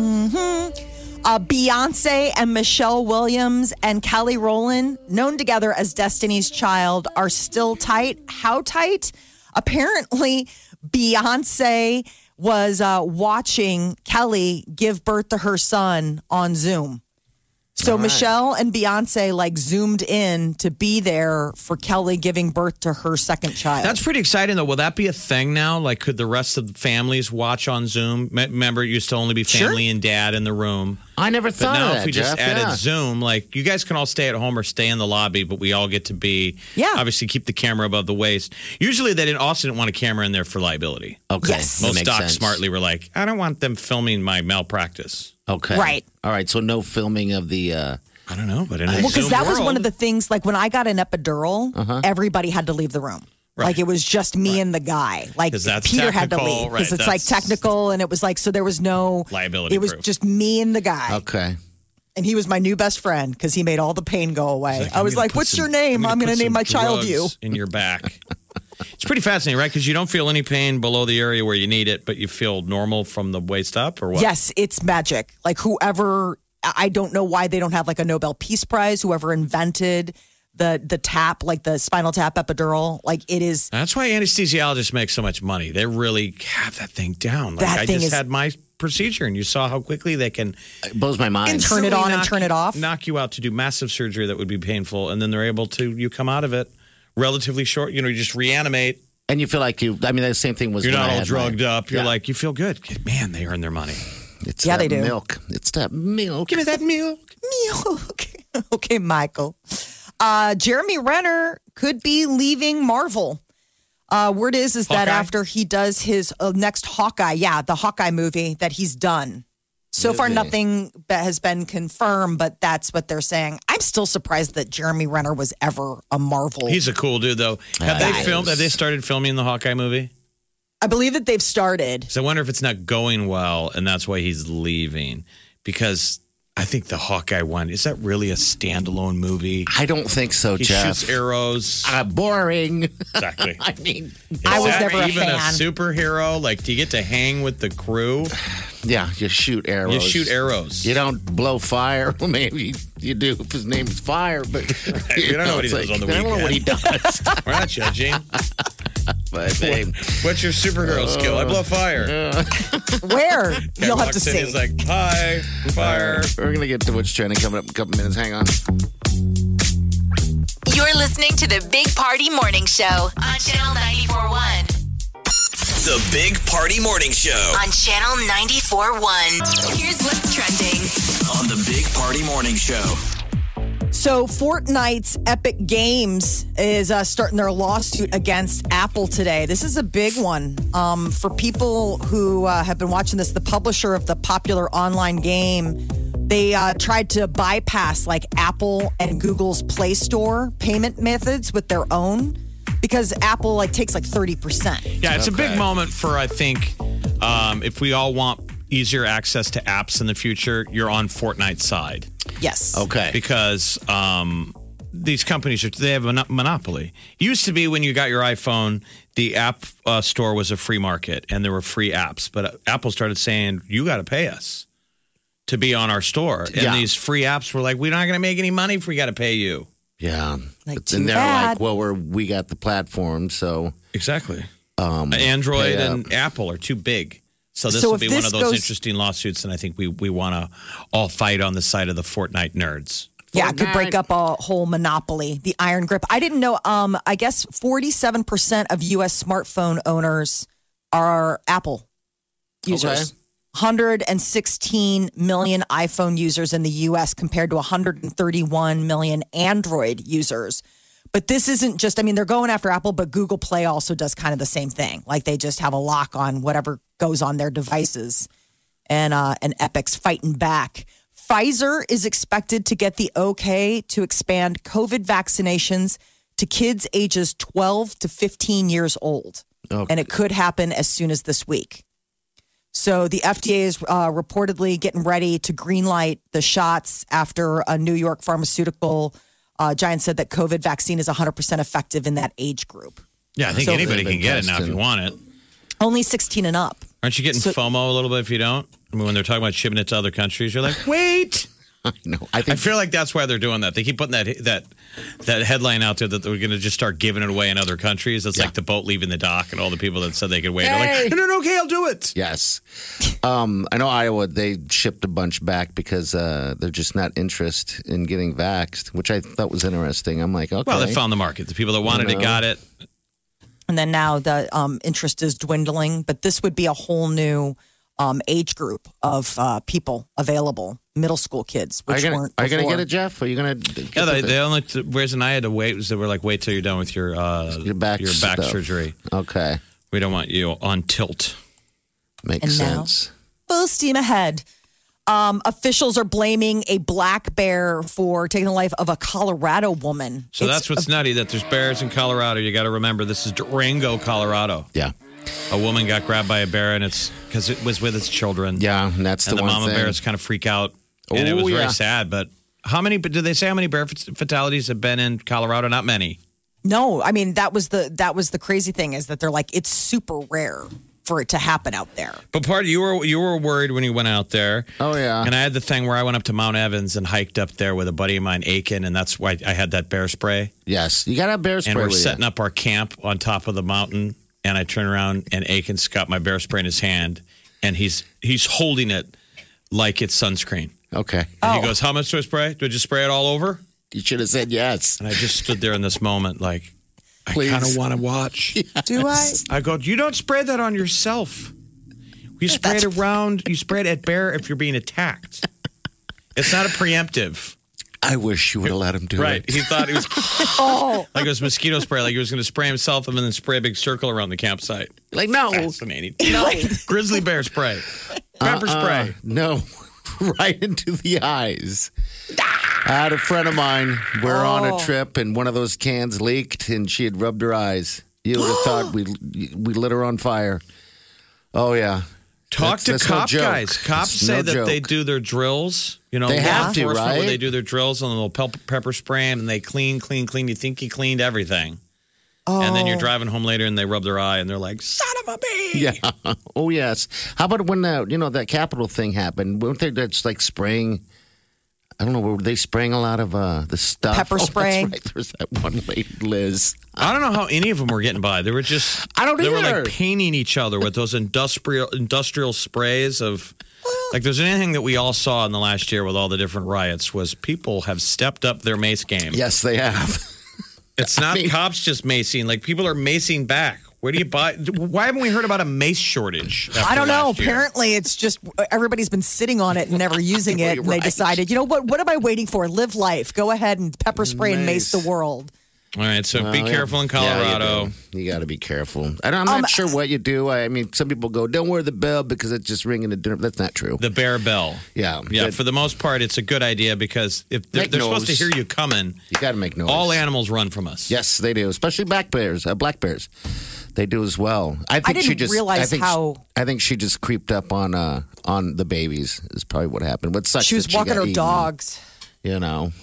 Beyonce and Michelle Williams and Kelly Rowland, known together as Destiny's Child, are still tight. How tight? Apparently, Beyonce was watching Kelly give birth to her son on Zoom. So Michelle and Beyonce like zoomed in to be there for Kelly giving birth to her second child. That's pretty exciting, though. Will that be a thing now? Like, could the rest of the families watch on Zoom? Remember, it used to only be family and dad in the room. I never But thought now, of that, if we just Jeff. added Yeah. Zoom, like, you guys can all stay at home or stay in the lobby, but we all get to be, obviously, keep the camera above the waist. Usually, they also didn't want a camera in there for liability. Okay. Yes. that Most makes docs sense. smartly were like, I don't want them filming my malpractice. Okay. Right. All right. So no filming of the. I don't know, but in a Well, because Zoom that was one world- of the things, like when I got an epidural, everybody had to leave the room. Right. Like it was just me and the guy. Like 'Cause that's Peter had to technical, leave because right, it's like that's- technical, and it was like so there was no Liability It was proof. just me and the guy, Okay. and he was my new best friend because he made all the pain go away. I I'm was gonna like, put "What's some- your name? I'm going to put name some my child you." drugs in your back. It's pretty fascinating, right? Because you don't feel any pain below the area where you need it, but you feel normal from the waist up, or what? Yes, it's magic. Like whoever, I don't know why they don't have like a Nobel Peace Prize. Whoever invented the tap, like the spinal tap epidural, like it is. That's why anesthesiologists make so much money. They really have that thing down. Like That I thing just is- had my procedure, and you saw how quickly they can It blows my mind. Turn it on and knock turn it off. knock you out to do massive surgery that would be painful, and then they're able to you come out of it relatively short. You just reanimate. And you feel like the same thing was You're when not I all had drugged mine. up. You're Yeah. like, you feel good. Man, they earn their money. It's Yeah, that they do. milk. It's that milk. Give me that milk. Milk. Okay, Michael. Jeremy Renner could be leaving Marvel. Word is that Hawkeye? after he does his next Hawkeye, the Hawkeye movie that he's done. So far, Really? nothing that has been confirmed, but that's what they're saying. I'm still surprised that Jeremy Renner was ever a Marvel. He's a cool dude, though. Have they Nice. filmed? Have they started filming the Hawkeye movie? I believe that they've started. So I wonder if it's not going well, and that's why he's leaving. Because I think the Hawkeye one, is that really a standalone movie? I don't think so, He Jeff. shoots arrows. Boring. Exactly. I mean, I was Is that never a even fan. a superhero? Like, do you get to hang with the crew? yeah, you shoot arrows. You shoot arrows. You don't blow fire. Well, maybe you do if his name is Fire, but We don't know what he it's does on the I don't know what he does. We're not judging. but hey, What's your superhero skill? I blow fire. Where? Guy You'll have walks to in, see. He's like, hi, fire. we're gonna get to what's trending coming up in a couple minutes. Hang on. You're listening to the Big Party Morning Show on Channel 94.1. The Big Party Morning Show On Channel 94.1. Here's what's trending. on the Big Party Morning Show. So Fortnite's Epic Games is starting their lawsuit against Apple today. This is a big one for people who have been watching this. The publisher of the popular online game, they tried to bypass like Apple and Google's Play Store payment methods with their own because Apple takes 30%. Yeah, it's a big Okay. moment for, I think, if we all want easier access to apps in the future, you're on Fortnite's side. Yes. Okay. Because these companies, they have a monopoly. It used to be when you got your iPhone, the app store was a free market and there were free apps. But Apple started saying, you got to pay us to be on our store. And Yeah. these free apps were like, we're not going to make any money if we got to pay you. Yeah. Too And they're bad. like, well, we got the platform, so Exactly. Android pay and Apple are too big. So this So will if be one this of those goes- interesting lawsuits, and I think we want to all fight on the side of the Fortnite nerds. Yeah, it could break up a whole monopoly, the iron grip. I didn't know. I guess 47% of U.S. smartphone owners are Apple users. Okay. 116 million iPhone users in the U.S. compared to 131 million Android users. But this isn't just, they're going after Apple, but Google Play also does kind of the same thing. Like they just have a lock on whatever goes on their devices. And Epic's fighting back. Pfizer is expected to get the okay to expand COVID vaccinations to kids ages 12 to 15 years old. Okay. And it could happen as soon as this week. So the FDA is reportedly getting ready to greenlight the shots after a New York pharmaceutical giant said that COVID vaccine is 100% effective in that age group. Yeah, I think So- anybody can get it now if you want it. Only 16 and up. Aren't you getting FOMO a little bit if you don't? When they're talking about shipping it to other countries, you're like, wait. no, I I think feel like that's why they're doing that. They keep putting that headline out there that they're going to just start giving it away in other countries. It's like the boat leaving the dock and all the people that said they could wait are like, no, okay, I'll do it. yes. I know Iowa, they shipped a bunch back because they're just not interested in getting vaxxed, which I thought was interesting. I'm like, okay. Well, they found the market. The people that wanted it got it. And then now the interest is dwindling. But this would be a whole new age group of people available, middle school kids, which weren't Are you going to before. get it, Jeff? Are you going to? Yeah, the only reason I had to wait was they were like, wait till you're done with your back stuff. surgery. Okay. We don't want you on tilt. Makes And now- sense. Full steam ahead. Officials are blaming a black bear for taking the life of a Colorado woman. So that's what's nutty, that there's bears in Colorado. You got to remember, this is Durango, Colorado. Yeah. A woman got grabbed by a bear, and it's because it was with its children. Yeah, and that's And the the one mama thing. bears kind of freak out. And it Oh, was yeah. very sad. But did they say how many bear fatalities have been in Colorado? Not many. No, that was the crazy thing is that they're like it's super rare for it to happen out there. But you were worried when you went out there. Oh, yeah. And I had the thing where I went up to Mount Evans and hiked up there with a buddy of mine, Aiken, and that's why I had that bear spray. Yes. You got to have bear spray And we're with setting you. up our camp on top of the mountain, and I turn around and Aiken's got my bear spray in his hand, and he's holding it like it's sunscreen. Okay. And he goes, "How much do I spray? Do I just spray it all over?" You should have said yes. And I just stood there in this moment, like, Please. I kind of want to watch. Do I? I go, you don't spray that on yourself. You spray it around. You spray it at bear if you're being attacked. It's not a preemptive. I wish you would have let him do Right. it. He thought it was like it was mosquito spray, like he was going to spray himself and then spray a big circle around the campsite. Like, no. Fascinating. No. Grizzly bear spray. Pepper spray. No. Right into the eyes. I had a friend of mine. We're on a trip, and one of those cans leaked, and she had rubbed her eyes. You would have thought we lit her on fire. Oh, yeah. Talk to That's no cop joke. guys. Cops It's say no that joke. they do their drills. You know, They law have to, enforcement, where right? they do their drills and they'll pepper spray 'em and they clean. You think you cleaned everything. And then you're driving home later and they rub their eye and they're like, son of a bee. Yeah. Oh, yes. How about when that Capitol thing happened? Weren't they just like spraying? I don't know. Were they spraying a lot of the stuff? Pepper spray? That's right. There was that one lady, Liz. I don't know how any of them were getting by. They were just I don't They were either. like painting each other with those industrial sprays of like there's anything that we all saw in the last year with all the different riots was people have stepped up their mace game. Yes, they have. It's not cops just macing. Like people are macing back. Where do you buy? Why haven't we heard about a mace shortage? I don't know. last year? Apparently, it's just everybody's been sitting on it and never using it. And they Right. decided, you know what? What am I waiting for? Live life. Go ahead and pepper spray and mace the world. All right, so be Well, careful in yeah, Colorado. you got to be careful. I'm not sure what you do. I mean, some people go, "Don't wear the bell because it's just ringing the dinner." That's not true. The bear bell. Yeah, Yeah, but for the most part, it's a good idea because if they're Make supposed to noise. hear you coming, you got to make noise. all animals run from us. Yes, they do, especially black bears. They do as well. I think she didn't just realize I think how- I think she just creeped up on the babies. Is probably what happened. What sucks? She was that walking got her eaten, dogs. You know.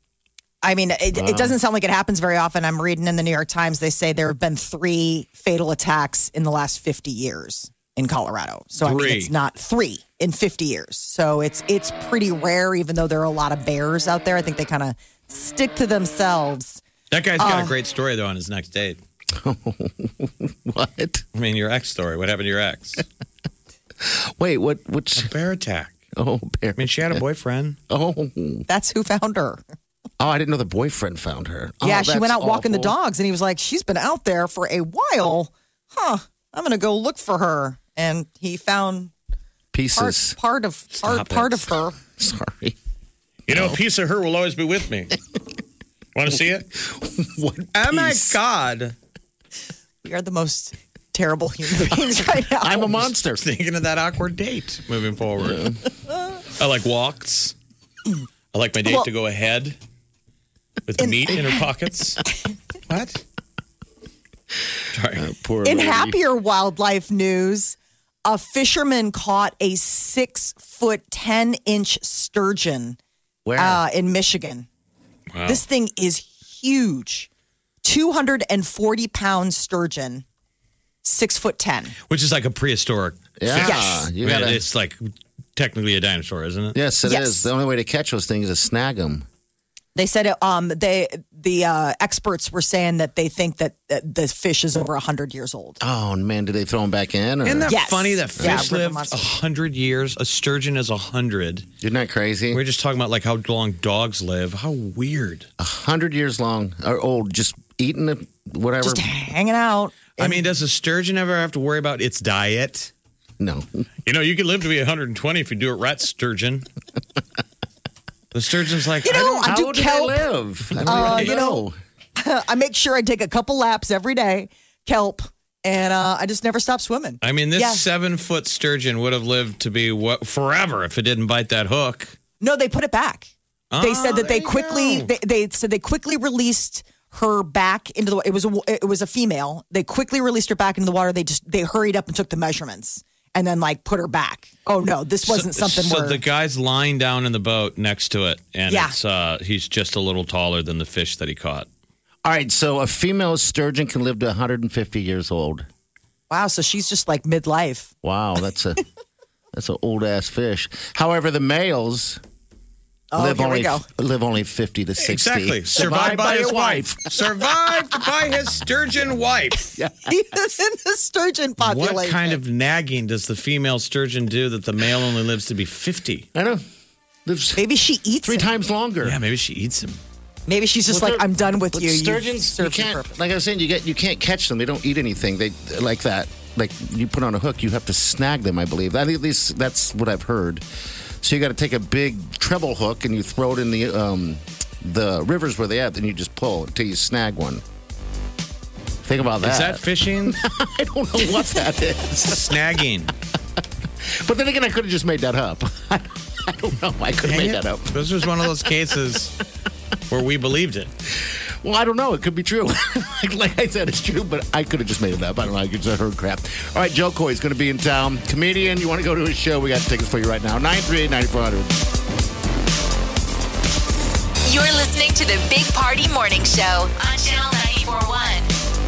I mean, it doesn't sound like it happens very often. I'm reading in the New York Times, they say there have been 3 fatal attacks in the last 50 years in Colorado. So, I mean, 3. it's not 3 in 50 years. So it's pretty rare, even though there are a lot of bears out there. I think they kind of stick to themselves. That guy's got a great story, though, on his next date. What? I mean, your ex story. What happened to your ex? Wait, what? Which? A bear attack. Oh, bear. I mean, she had a boyfriend. Oh, That's who found her. I didn't know the boyfriend found her. Yeah, Oh, she went that's out walking the awful. dogs, and he was like, she's been out there for a while. I'm going to go look for her. And he found Pieces. part of her. Sorry. You know, a piece of her will always be with me. Want to see it? What? Oh, my piece? God. We are the most terrible human beings right now. I'm a monster. Thinking of that awkward date moving forward. I like walks. I like my date to go ahead with meat in her pockets. What? Sorry. Poor In lady. happier wildlife news, a fisherman caught a 6-foot, 10-inch sturgeon Where? in Michigan. Wow. This thing is huge. 240-pound sturgeon, 6'10". Which is like a prehistoric Yeah, fish. Yes. you I mean, gotta- it's like technically a dinosaur, isn't it? Yes, it is. Yes. The only way to catch those things is snag them. They said the experts were saying that they think that the fish is over 100 years old. Oh man, did they throw them back in? Or? Isn't that Yes. funny that Yeah, fish river lived monster. 100 years? A sturgeon is 100. Isn't that crazy? We're just talking about like how long dogs live. How weird. 100 years long or old, just eating it, whatever. Just hanging out. I mean, does a sturgeon ever have to worry about its diet? No. You know, you can live to be 120 if you do it right, sturgeon. The sturgeon's like, You know, I How do do kelp. they live? I don't even you know, I make sure I take a couple laps every day, kelp, and I just never stop swimming. I mean, this Yeah. 7-foot sturgeon would have lived to be forever if it didn't bite that hook. No, they put it back. They said that there they you quickly go. they said they quickly released her back into the. It was a female. They quickly released her back into the water. They hurried up and took the measurements and then like put her back. Oh no, this wasn't something So where the guy's lying down in the boat next to it, and Yeah. it's he's just a little taller than the fish that he caught. All right, so a female sturgeon can live to 150 years old. wow. So she's just like midlife. Wow, that's an old ass fish. However, the males live here we go. only 50 to 60. Exactly. Survived by his wife. Survived by his sturgeon wife. Yeah. He is in the sturgeon population. What kind of nagging does the female sturgeon do that the male only lives to be 50? I know. Lives Maybe she eats 3 it. times longer. Yeah, maybe she eats him. Maybe she's just like, I'm done with you. Sturgeons, you can't. Like I was saying, you can't catch them. They don't eat anything. They like that. Like you put on a hook, you have to snag them. I believe. At least that's what I've heard. So you got to take a big treble hook and you throw it in the rivers where they at. Then you just pull until you snag one. Think about that. Is that fishing? I don't know what that is. Snagging. But then again, I could have just made that up. I don't know. I could have made that up. This was one of those cases where we believed it. Well, I don't know. It could be true. like I said, it's true, but I could have just made it up. I don't know. I just heard crap. All right, Joe Coy's going to be in town. Comedian, you want to go to his show? We got tickets for you right now. 938-9400. You're listening to the Big Party Morning Show on Channel 94.1.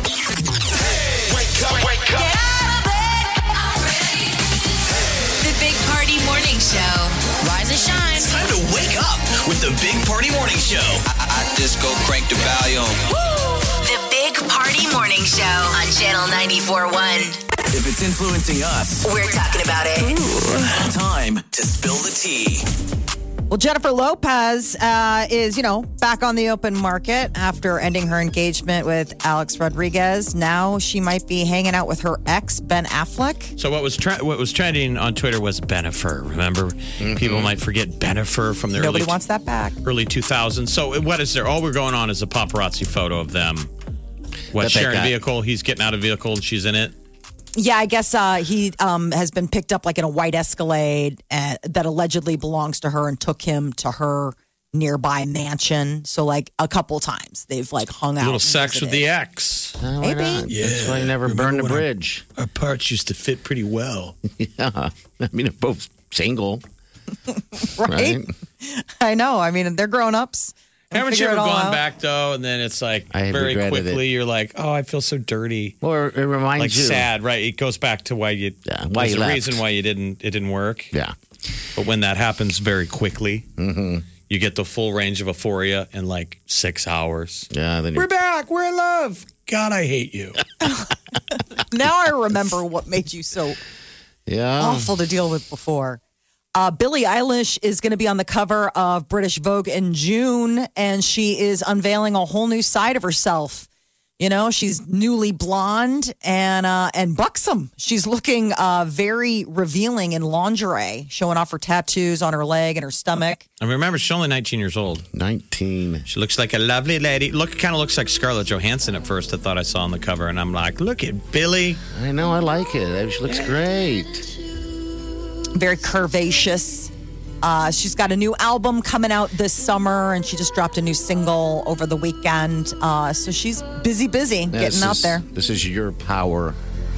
Wake up. Get out of bed already. The Big Party Morning Show. Rise and shine. It's time to wake up with the Big Party Morning Show. I just go crank the volume. The Big Party Morning Show on Channel 94.1. If it's influencing us, We're talking about it. time to spill the tea. Well, Jennifer Lopez is, back on the open market after ending her engagement with Alex Rodriguez. Now she might be hanging out with her ex, Ben Affleck. So what was trending on Twitter was Bennifer. Remember, people might forget Bennifer from the Nobody wants that back. early 2000s. So what is there? All we're going on is a paparazzi photo of them. Sharing a vehicle? He's getting out of vehicle and she's in it. Yeah, I guess he has been picked up like in a white Escalade that allegedly belongs to her and took him to her nearby mansion. So like a couple times they've like hung out. A little sex with the ex. Oh, Maybe. Yeah. That's why you never burned the bridge. Our parts used to fit pretty well. Yeah. I mean, they're both single. Right? I know. I mean, they're grown-ups. Haven't you ever gone back though, and then it's like very quickly you're like, oh, I feel so dirty. Or it reminds like you. sad, right? It goes back to why you. Yeah, why you the left. reason why it didn't work. Yeah. But when that happens very quickly, you get the full range of euphoria in like 6 hours. Yeah. Then We're back. We're in love. God, I hate you. Now I remember what made you so awful to deal with before. Billie Eilish is going to be on the cover of British Vogue in June, and she is unveiling a whole new side of herself. She's newly blonde and buxom. She's looking very revealing in lingerie, showing off her tattoos on her leg and her stomach. I remember she's only 19 years old. 19. She looks like a lovely lady. Kind of looks like Scarlett Johansson at first. I thought I saw on the cover, and I'm like, look at Billie. I know. I like it. She looks great. Very curvaceous. She's got a new album coming out this summer, and she just dropped a new single over the weekend. So she's busy getting out there. This is your power.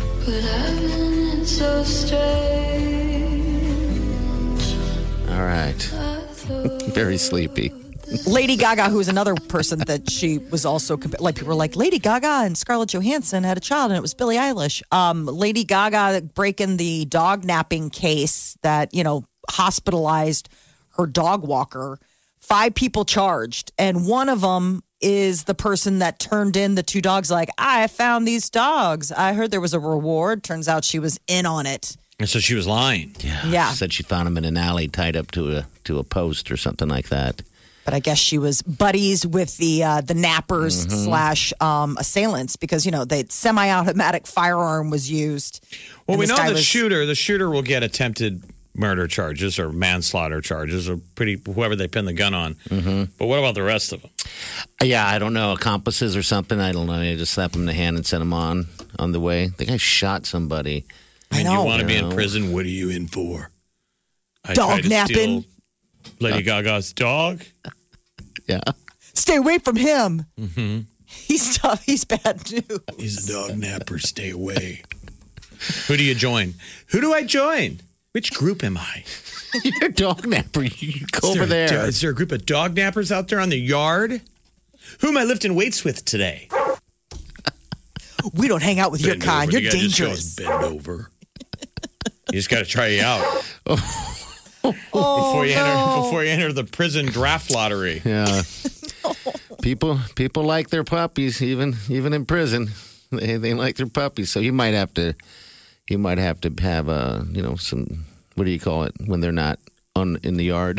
All right. Very sleepy. Lady Gaga, who is another person that she was also, like people were like, Lady Gaga and Scarlett Johansson had a child, and it was Billie Eilish. Lady Gaga breaking the dog napping case that, hospitalized her dog walker. 5 people charged, and one of them is the person that turned in the 2 dogs. Like, I found these dogs. I heard there was a reward. Turns out she was in on it. And so she was lying. Yeah. She said she found him in an alley tied up to a post or something like that. But I guess she was buddies with the nappers / assailants because, the semi-automatic firearm was used. Well, we know the shooter will get attempted murder charges or manslaughter charges or whoever they pin the gun on. But what about the rest of them? Yeah, I don't know. Accomplices or something. I don't know. You just slap them in the hand and send them on the way. The guy shot somebody. I mean, you want to be in prison? What are you in for? Dog napping. Lady Gaga's dog? Yeah. Stay away from him. He's tough. He's bad news. He's a dog napper. Stay away. Who do you join? Who do I join? Which group am I? You're a dog napper. You go over there. Is there a group of dog nappers out there on the yard? Who am I lifting weights with today? We don't hang out with your kind. You're dangerous. Bend over. You just got to try you out. Before you enter the prison draft lottery. Yeah. People like their puppies, even in prison. They like their puppies. So you might have to have some, what do you call it when they're not in the yard?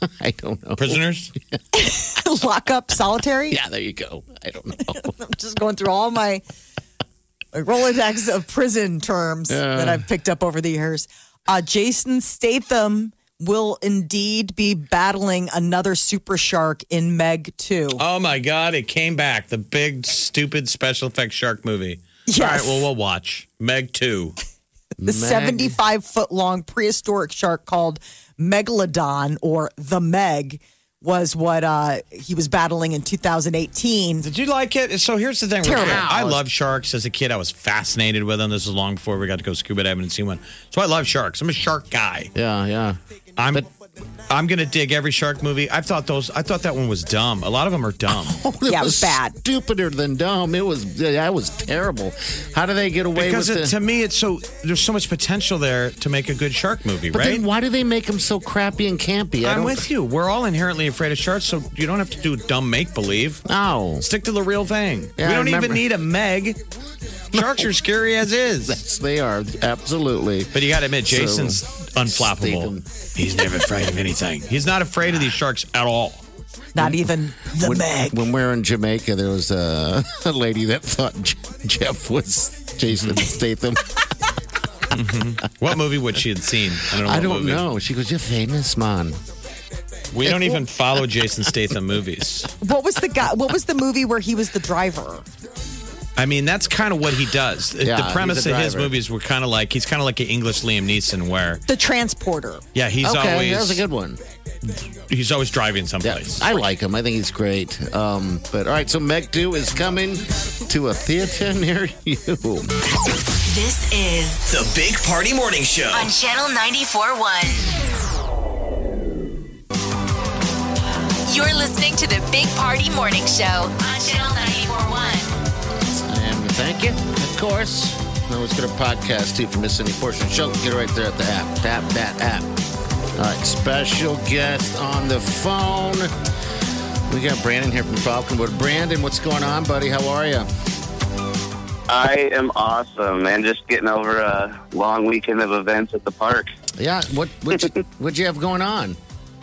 I don't know. Prisoners? Lock up, solitary. Yeah, there you go. I don't know. I'm just going through all my Rolodex of prison terms that I've picked up over the years. Jason Statham will indeed be battling another super shark in Meg 2. Oh, my God. It came back. The big, stupid special effects shark movie. Yes. All right, well, we'll watch. Meg 2. The 75-foot-long prehistoric shark called Megalodon, or the Meg, was what he was battling in 2018. Did you like it? So here's the thing. Terrible. I love sharks. As a kid, I was fascinated with them. This is long before we got to go scuba diving and see one. So I love sharks. I'm a shark guy. Yeah. I'm going to dig every shark movie. I thought that one was dumb. A lot of them are dumb. It was bad. Stupider than dumb. That was terrible. How do they get away with it? To me, there's so much potential there to make a good shark movie, But right? then why do they make them so crappy and campy? I'm with you. We're all inherently afraid of sharks, so you don't have to do dumb make-believe. No. Stick to the real thing. Yeah, we I don't even remember. need a Meg. Sharks are scary as is. Yes, they are. Absolutely. But you got to admit, Jason's unflappable. Statham. He's never afraid of anything. He's not afraid of these sharks at all. Not even the Meg. When we were in Jamaica, there was a lady that thought Jeff was Jason Statham. What movie would she have seen? I don't movie. know. She goes, "You're famous, man." We don't even follow Jason Statham movies. What was the movie where he was the driver? I mean, that's kind of what he does. Yeah, The premise he's a of his driver. movies were kind of like, he's kind of like an English Liam Neeson where, The Transporter. yeah, he's Okay, that was a always good one. driving Yeah, someplace. I like him. I think he's great. But all right, so Meg 2 is coming to a theater near you. This is The Big Party Morning Show. on Channel 94.1. You're listening to the Big Party Morning Show on Channel 94.1. And thank you, of course. I always get a podcast too. If you miss any portion of the show, get it right there at the app. Tap that app. All right, special guest on the phone. We got Brandon here from Falconwood. Brandon, what's going on, buddy? How are you? I am awesome, man. Just getting over a long weekend of events at the park. Yeah, what'd you have going on?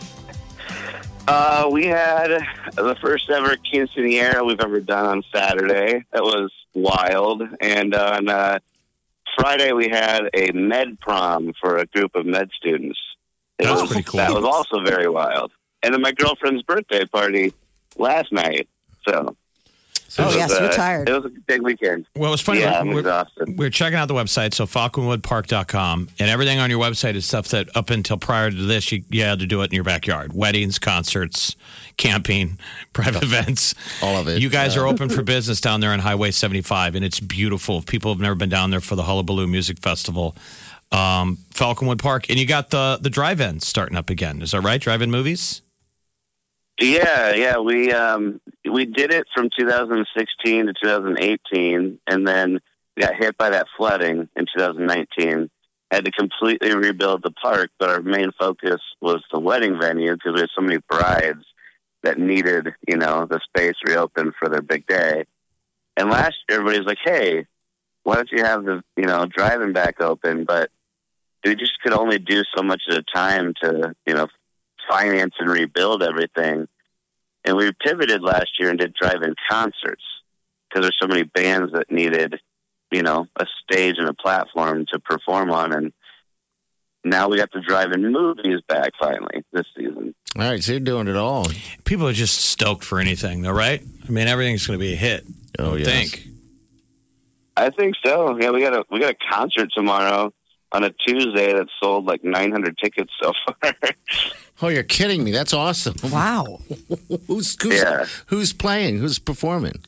We had the first ever quinceañera we've ever done on Saturday. That was wild. And on Friday, we had a med prom for a group of med students. That was pretty cool. That was also very wild. And then my girlfriend's birthday party last night. So Oh, yes, you're tired. It was a big weekend. Well, it's funny. Yeah, I'm exhausted. We're checking out the website, so falconwoodpark.com, and everything on your website is stuff that up until prior to this, you had to do it in your backyard. Weddings, concerts, camping, private events. All of it. You guys are open for business down there on Highway 75, and it's beautiful. If people have never been down there for the Hullabaloo Music Festival, Falconwood Park, and you got the drive-in starting up again. Is that right? Drive-in movies? Yeah. We did it from 2016 to 2018, and then we got hit by that flooding in 2019. Had to completely rebuild the park, but our main focus was the wedding venue because we had so many brides that needed, the space reopened for their big day. And last year, everybody's like, "Hey, why don't you have the drive-in back open?" But we just could only do so much at a time to finance and rebuild everything. And we pivoted last year and did drive-in concerts because there's so many bands that needed, a stage and a platform to perform on. And now we got the drive-in movies back finally this season. All right, so you're doing it all. People are just stoked for anything, though, right? I mean, everything's going to be a hit. Oh, I yes. think. I think so. Yeah, we got a concert tomorrow on a Tuesday that sold like 900 tickets so far. Oh, you're kidding me. That's awesome. Wow. Who's playing? Who's performing?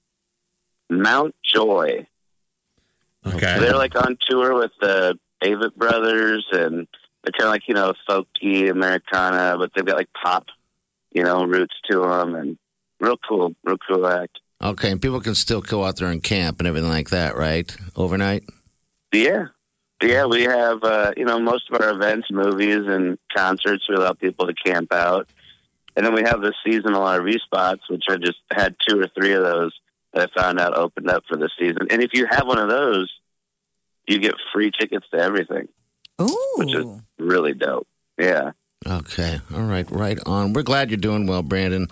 Mount Joy. Okay. They're like on tour with the Avett Brothers, and they're kind of like, folky Americana, but they've got like pop, roots to them, and real cool act. Okay, and people can still go out there and camp and everything like that, right? Overnight? Yeah, we have, most of our events, movies, and concerts, we allow people to camp out. And then we have the seasonal RV spots, which I just had 2 or 3 of those that I found out opened up for the season. And if you have one of those, you get free tickets to everything, Ooh. which is really dope. Yeah. Okay. All right. Right on. We're glad you're doing well, Brandon.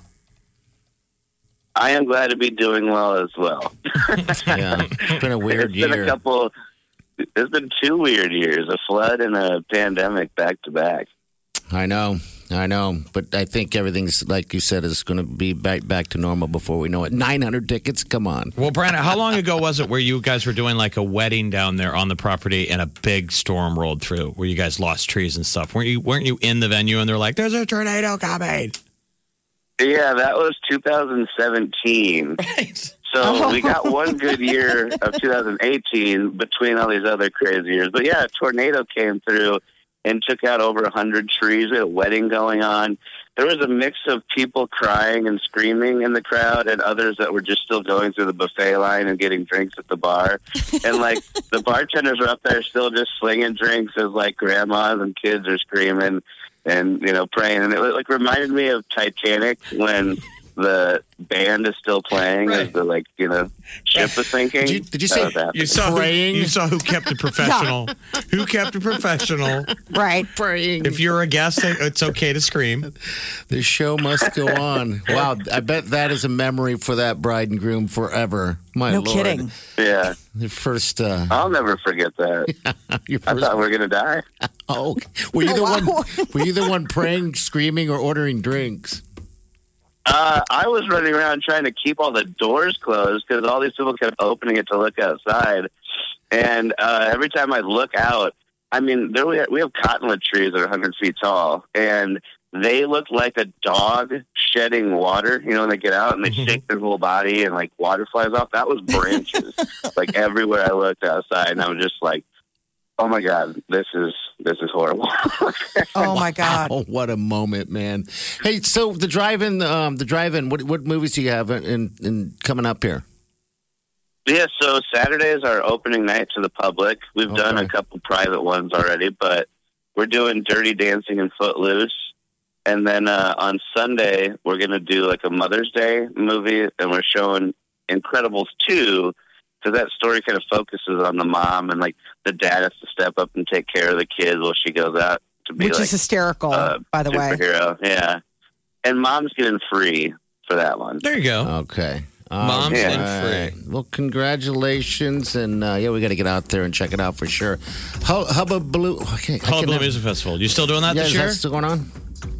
I am glad to be doing well as well. Yeah. It's been a weird year. It's been 2 weird years, a flood and a pandemic back to back. I know. But I think everything's, like you said, is going to be back to normal before we know it. 900 tickets? Come on. Well, Brandon, how long ago was it where you guys were doing like a wedding down there on the property and a big storm rolled through where you guys lost trees and stuff? Weren't you in the venue and they're like, there's a tornado coming? Yeah, that was 2017. Right. So we got one good year of 2018 between all these other crazy years. But yeah, a tornado came through and took out over 100 trees. We had a wedding going on. There was a mix of people crying and screaming in the crowd and others that were just still going through the buffet line and getting drinks at the bar. And, like, the bartenders were up there still just slinging drinks as, like, grandmas and kids are screaming and, you know, praying. And it, like, reminded me of Titanic when the band is still playing as the, like, you know, ship is sinking. Did you say you saw who kept it professional? Who kept it professional? Right. Praying. If you're a guest, it's okay to scream. The show must go on. Wow. I bet that is a memory for that bride and groom forever. My No Lord. kidding. Yeah. The first. I'll never forget that. I thought we were going to die. Oh, were you the one? Were you the one praying, screaming, or ordering drinks? I was running around trying to keep all the doors closed because all these people kept opening it to look outside. And every time I look out, I mean, we have cottonwood trees that are 100 feet tall, and they look like a dog shedding water. You know, when they get out and they shake their whole body and, like, water flies off. That was branches, like, everywhere I looked outside. And I was just like, oh, my God, this is horrible. Oh, my God. Oh, what a moment, man. Hey, so the drive-in, what movies do you have in coming up here? Yeah, so Saturday is our opening night to the public. We've done a couple private ones already, but we're doing Dirty Dancing and Footloose. And then on Sunday, we're going to do like a Mother's Day movie, and we're showing Incredibles 2, because that story kind of focuses on the mom, and like the dad has to step up and take care of the kids while she goes out to be Which is hysterical, by the way. Superhero, yeah. And mom's getting free for that one. There you go. Okay. Mom's in free. Well, congratulations, and we got to get out there and check it out for sure. Hullabaloo. Okay, Hullabaloo Music Festival. You still doing that this year? Is that still going on?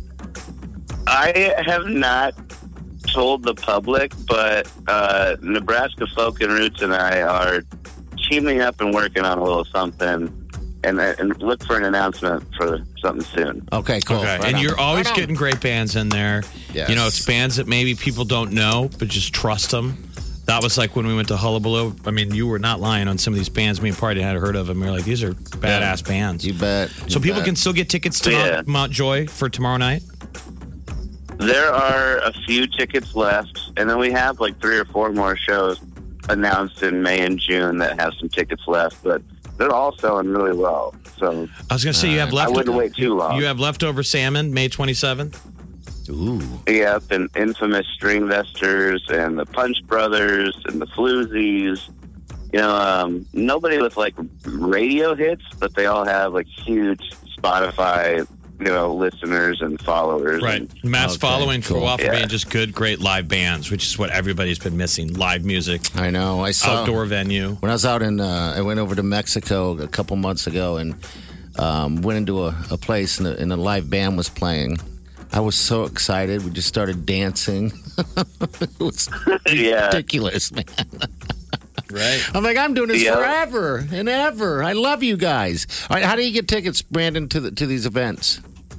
I have not told the public, but Nebraska Folk and Roots and I are teaming up and working on a little something, and look for an announcement for something soon. Okay, cool. Okay. Right and on. you're always getting great bands in there. Yes. You know, it's bands that maybe people don't know, but just trust them. That was like when we went to Hullabaloo. I mean, you were not lying on some of these bands me and Party had heard of, and we were like, these are badass bands. You bet. So people can still get tickets to Mount Joy for tomorrow night? There are a few tickets left, and then we have like 3 or 4 more shows announced in May and June that have some tickets left, but they're all selling really well. So I was going to say, you have I wouldn't wait too long. You have Leftover Salmon, May 27th? Ooh. Yep, and Infamous Stringvesters and the Punch Brothers and the Floozies. You know, nobody with like radio hits, but they all have like huge Spotify, you know, listeners and followers. Right. And, Mass following for a while for Yeah. being just good, great live bands, which is what everybody's been missing. Live music, I know. I saw outdoor venue. when I was out I went over to Mexico a couple months ago and went into a place and a live band was playing. I was so excited. We just started dancing. It was ridiculous, man. Right. I'm like, I'm doing this forever and ever. I love you guys. All right, how do you get tickets, Brandon, to these events?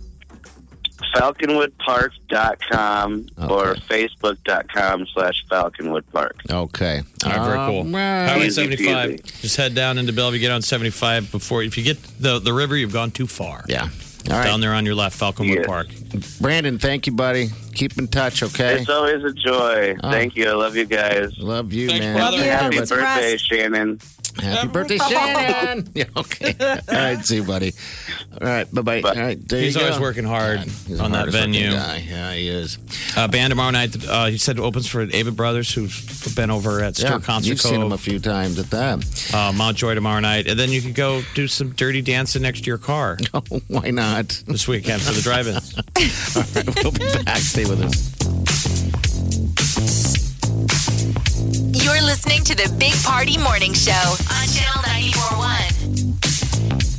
FalconwoodPark.com or Facebook.com/FalconwoodPark. Okay. All right, very cool. Highway Easy 75. peasy. Just head down into Bellevue, get on 75 before. If you get the river, you've gone too far. Yeah. It's All right. down there on your left, Falconwood Yeah. Park. Brandon, thank you, buddy. Keep in touch, okay? It's always a joy. Thank you. I love you guys. Love you, Thanks, man. brother. Love you. Happy Get some birthday, rest. Shannon. Happy birthday, Shannon. Yeah, okay. All right, see you, buddy. All right, bye-bye. All right, there He's you go. always working hard He's on that venue. Guy. Yeah, he is. Band tomorrow night. He said opens for David Brothers, who's been over at Steel Concert You've Cove. seen him a few times at that. Mount Joy tomorrow night. And then you could go do some dirty dancing next to your car Oh, why not? this weekend for the drive-ins. All right, we'll be back. Stay with us. You're listening to the Big Party Morning Show on Channel 94.1.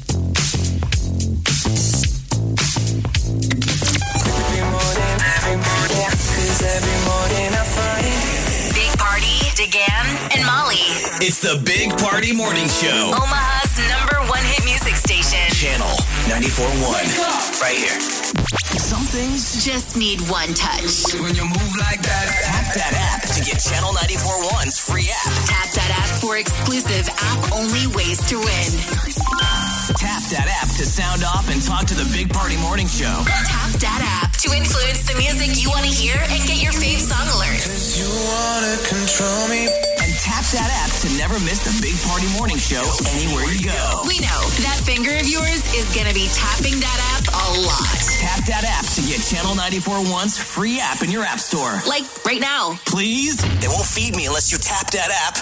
Big Party, DeGan, and Molly. It's the Big Party Morning Show. Omaha's #1 hit music station. Channel 94.1. Right here. Some things Just need one touch. when you move like that. Tap that app to get Channel 94.1's free app. Tap that app for exclusive app-only ways to win. Tap that app to sound off and talk to the Big Party Morning Show. Tap that app to influence the music you want to hear and get your fave song alerts. You wanna control me. And tap that app to never miss the Big Party Morning Show anywhere you go. We know that finger of yours is going to be tapping that app a lot. Tap that app to get Channel 94.1's free app in your app store. Like right now. Please? They won't feed me unless you tap that app.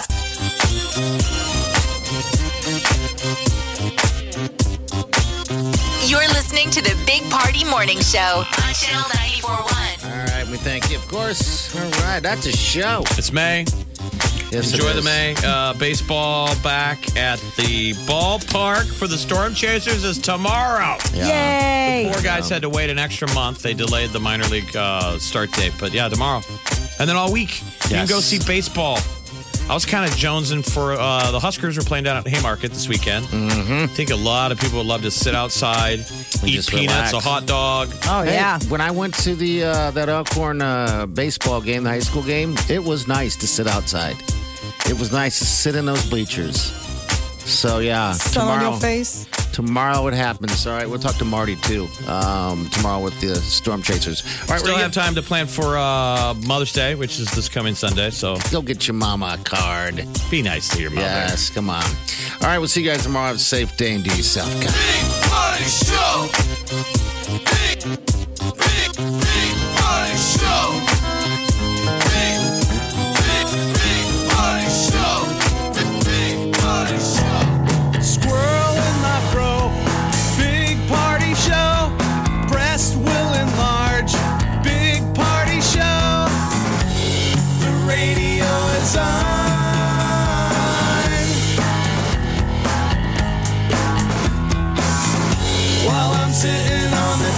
You're listening to the Big Party Morning Show on Channel 94.1. All right, we thank you, of course. All right, that's a show. It's May. Yes, it Enjoy the is. May. Baseball back at the ballpark for the Storm Chasers is tomorrow. Yay! Four guys had to wait an extra month. They delayed the minor league start date. But yeah, tomorrow. And then all week, you can go see baseball. I was kind of jonesing for the Huskers are playing down at Haymarket this weekend. Mm-hmm. I think a lot of people would love to sit outside, eat just peanuts, relax. a hot dog. Oh, Hey, yeah. when I went to the that Elkhorn baseball game, the high school game, it was nice to sit outside. It was nice to sit in those bleachers. So yeah, Sun on your face. Tomorrow it happens. All right, we'll talk to Marty too. Tomorrow with the Storm Chasers. All right, Still we're have time to plan for Mother's Day, which is this coming Sunday. So Go get your mama a card. be nice to your mother. Yes, come on. All right, we'll see you guys tomorrow. Have a safe day and do yourself, guys. Big Party Show. Big Party Show. Big Party Show. Big Party Show. Squirrel in my fro. Big party show. Breast will enlarge. Big party show. The radio is on. While I'm sitting on the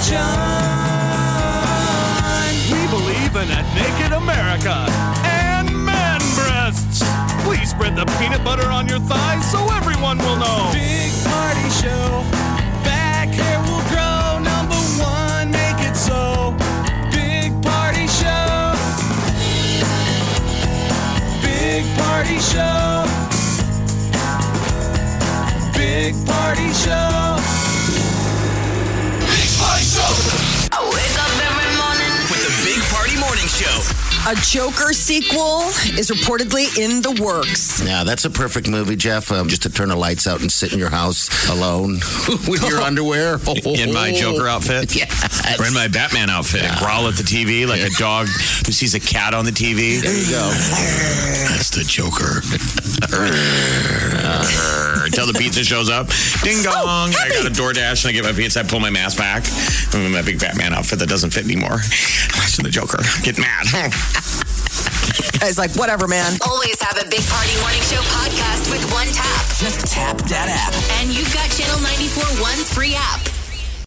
john. We believe in a naked America and man breasts. Please spread the peanut butter on your thighs so everyone will know. Big party show. Back hair will grow. Number one, make it so. Big party show. Big party show. Big party show. Big Party Show. I wake up every morning. With the Big Party Morning Show. A Joker sequel is reportedly in the works. Yeah, that's a perfect movie, Jeff. Just to turn the lights out and sit in your house alone with your underwear. In my Joker outfit? Yeah. Or in my Batman outfit and growl at the TV like a dog who sees a cat on the TV. There you go. That's the Joker. Until the pizza shows up. Ding dong. I got a DoorDash and I get my pizza. I pull my mask back. I'm in my big Batman outfit that doesn't fit anymore. Watching the Joker. Get mad. Guy's like, whatever, man. Always have a Big Party Morning Show podcast with one tap. Just tap that app. And you've got Channel 94.1's free app.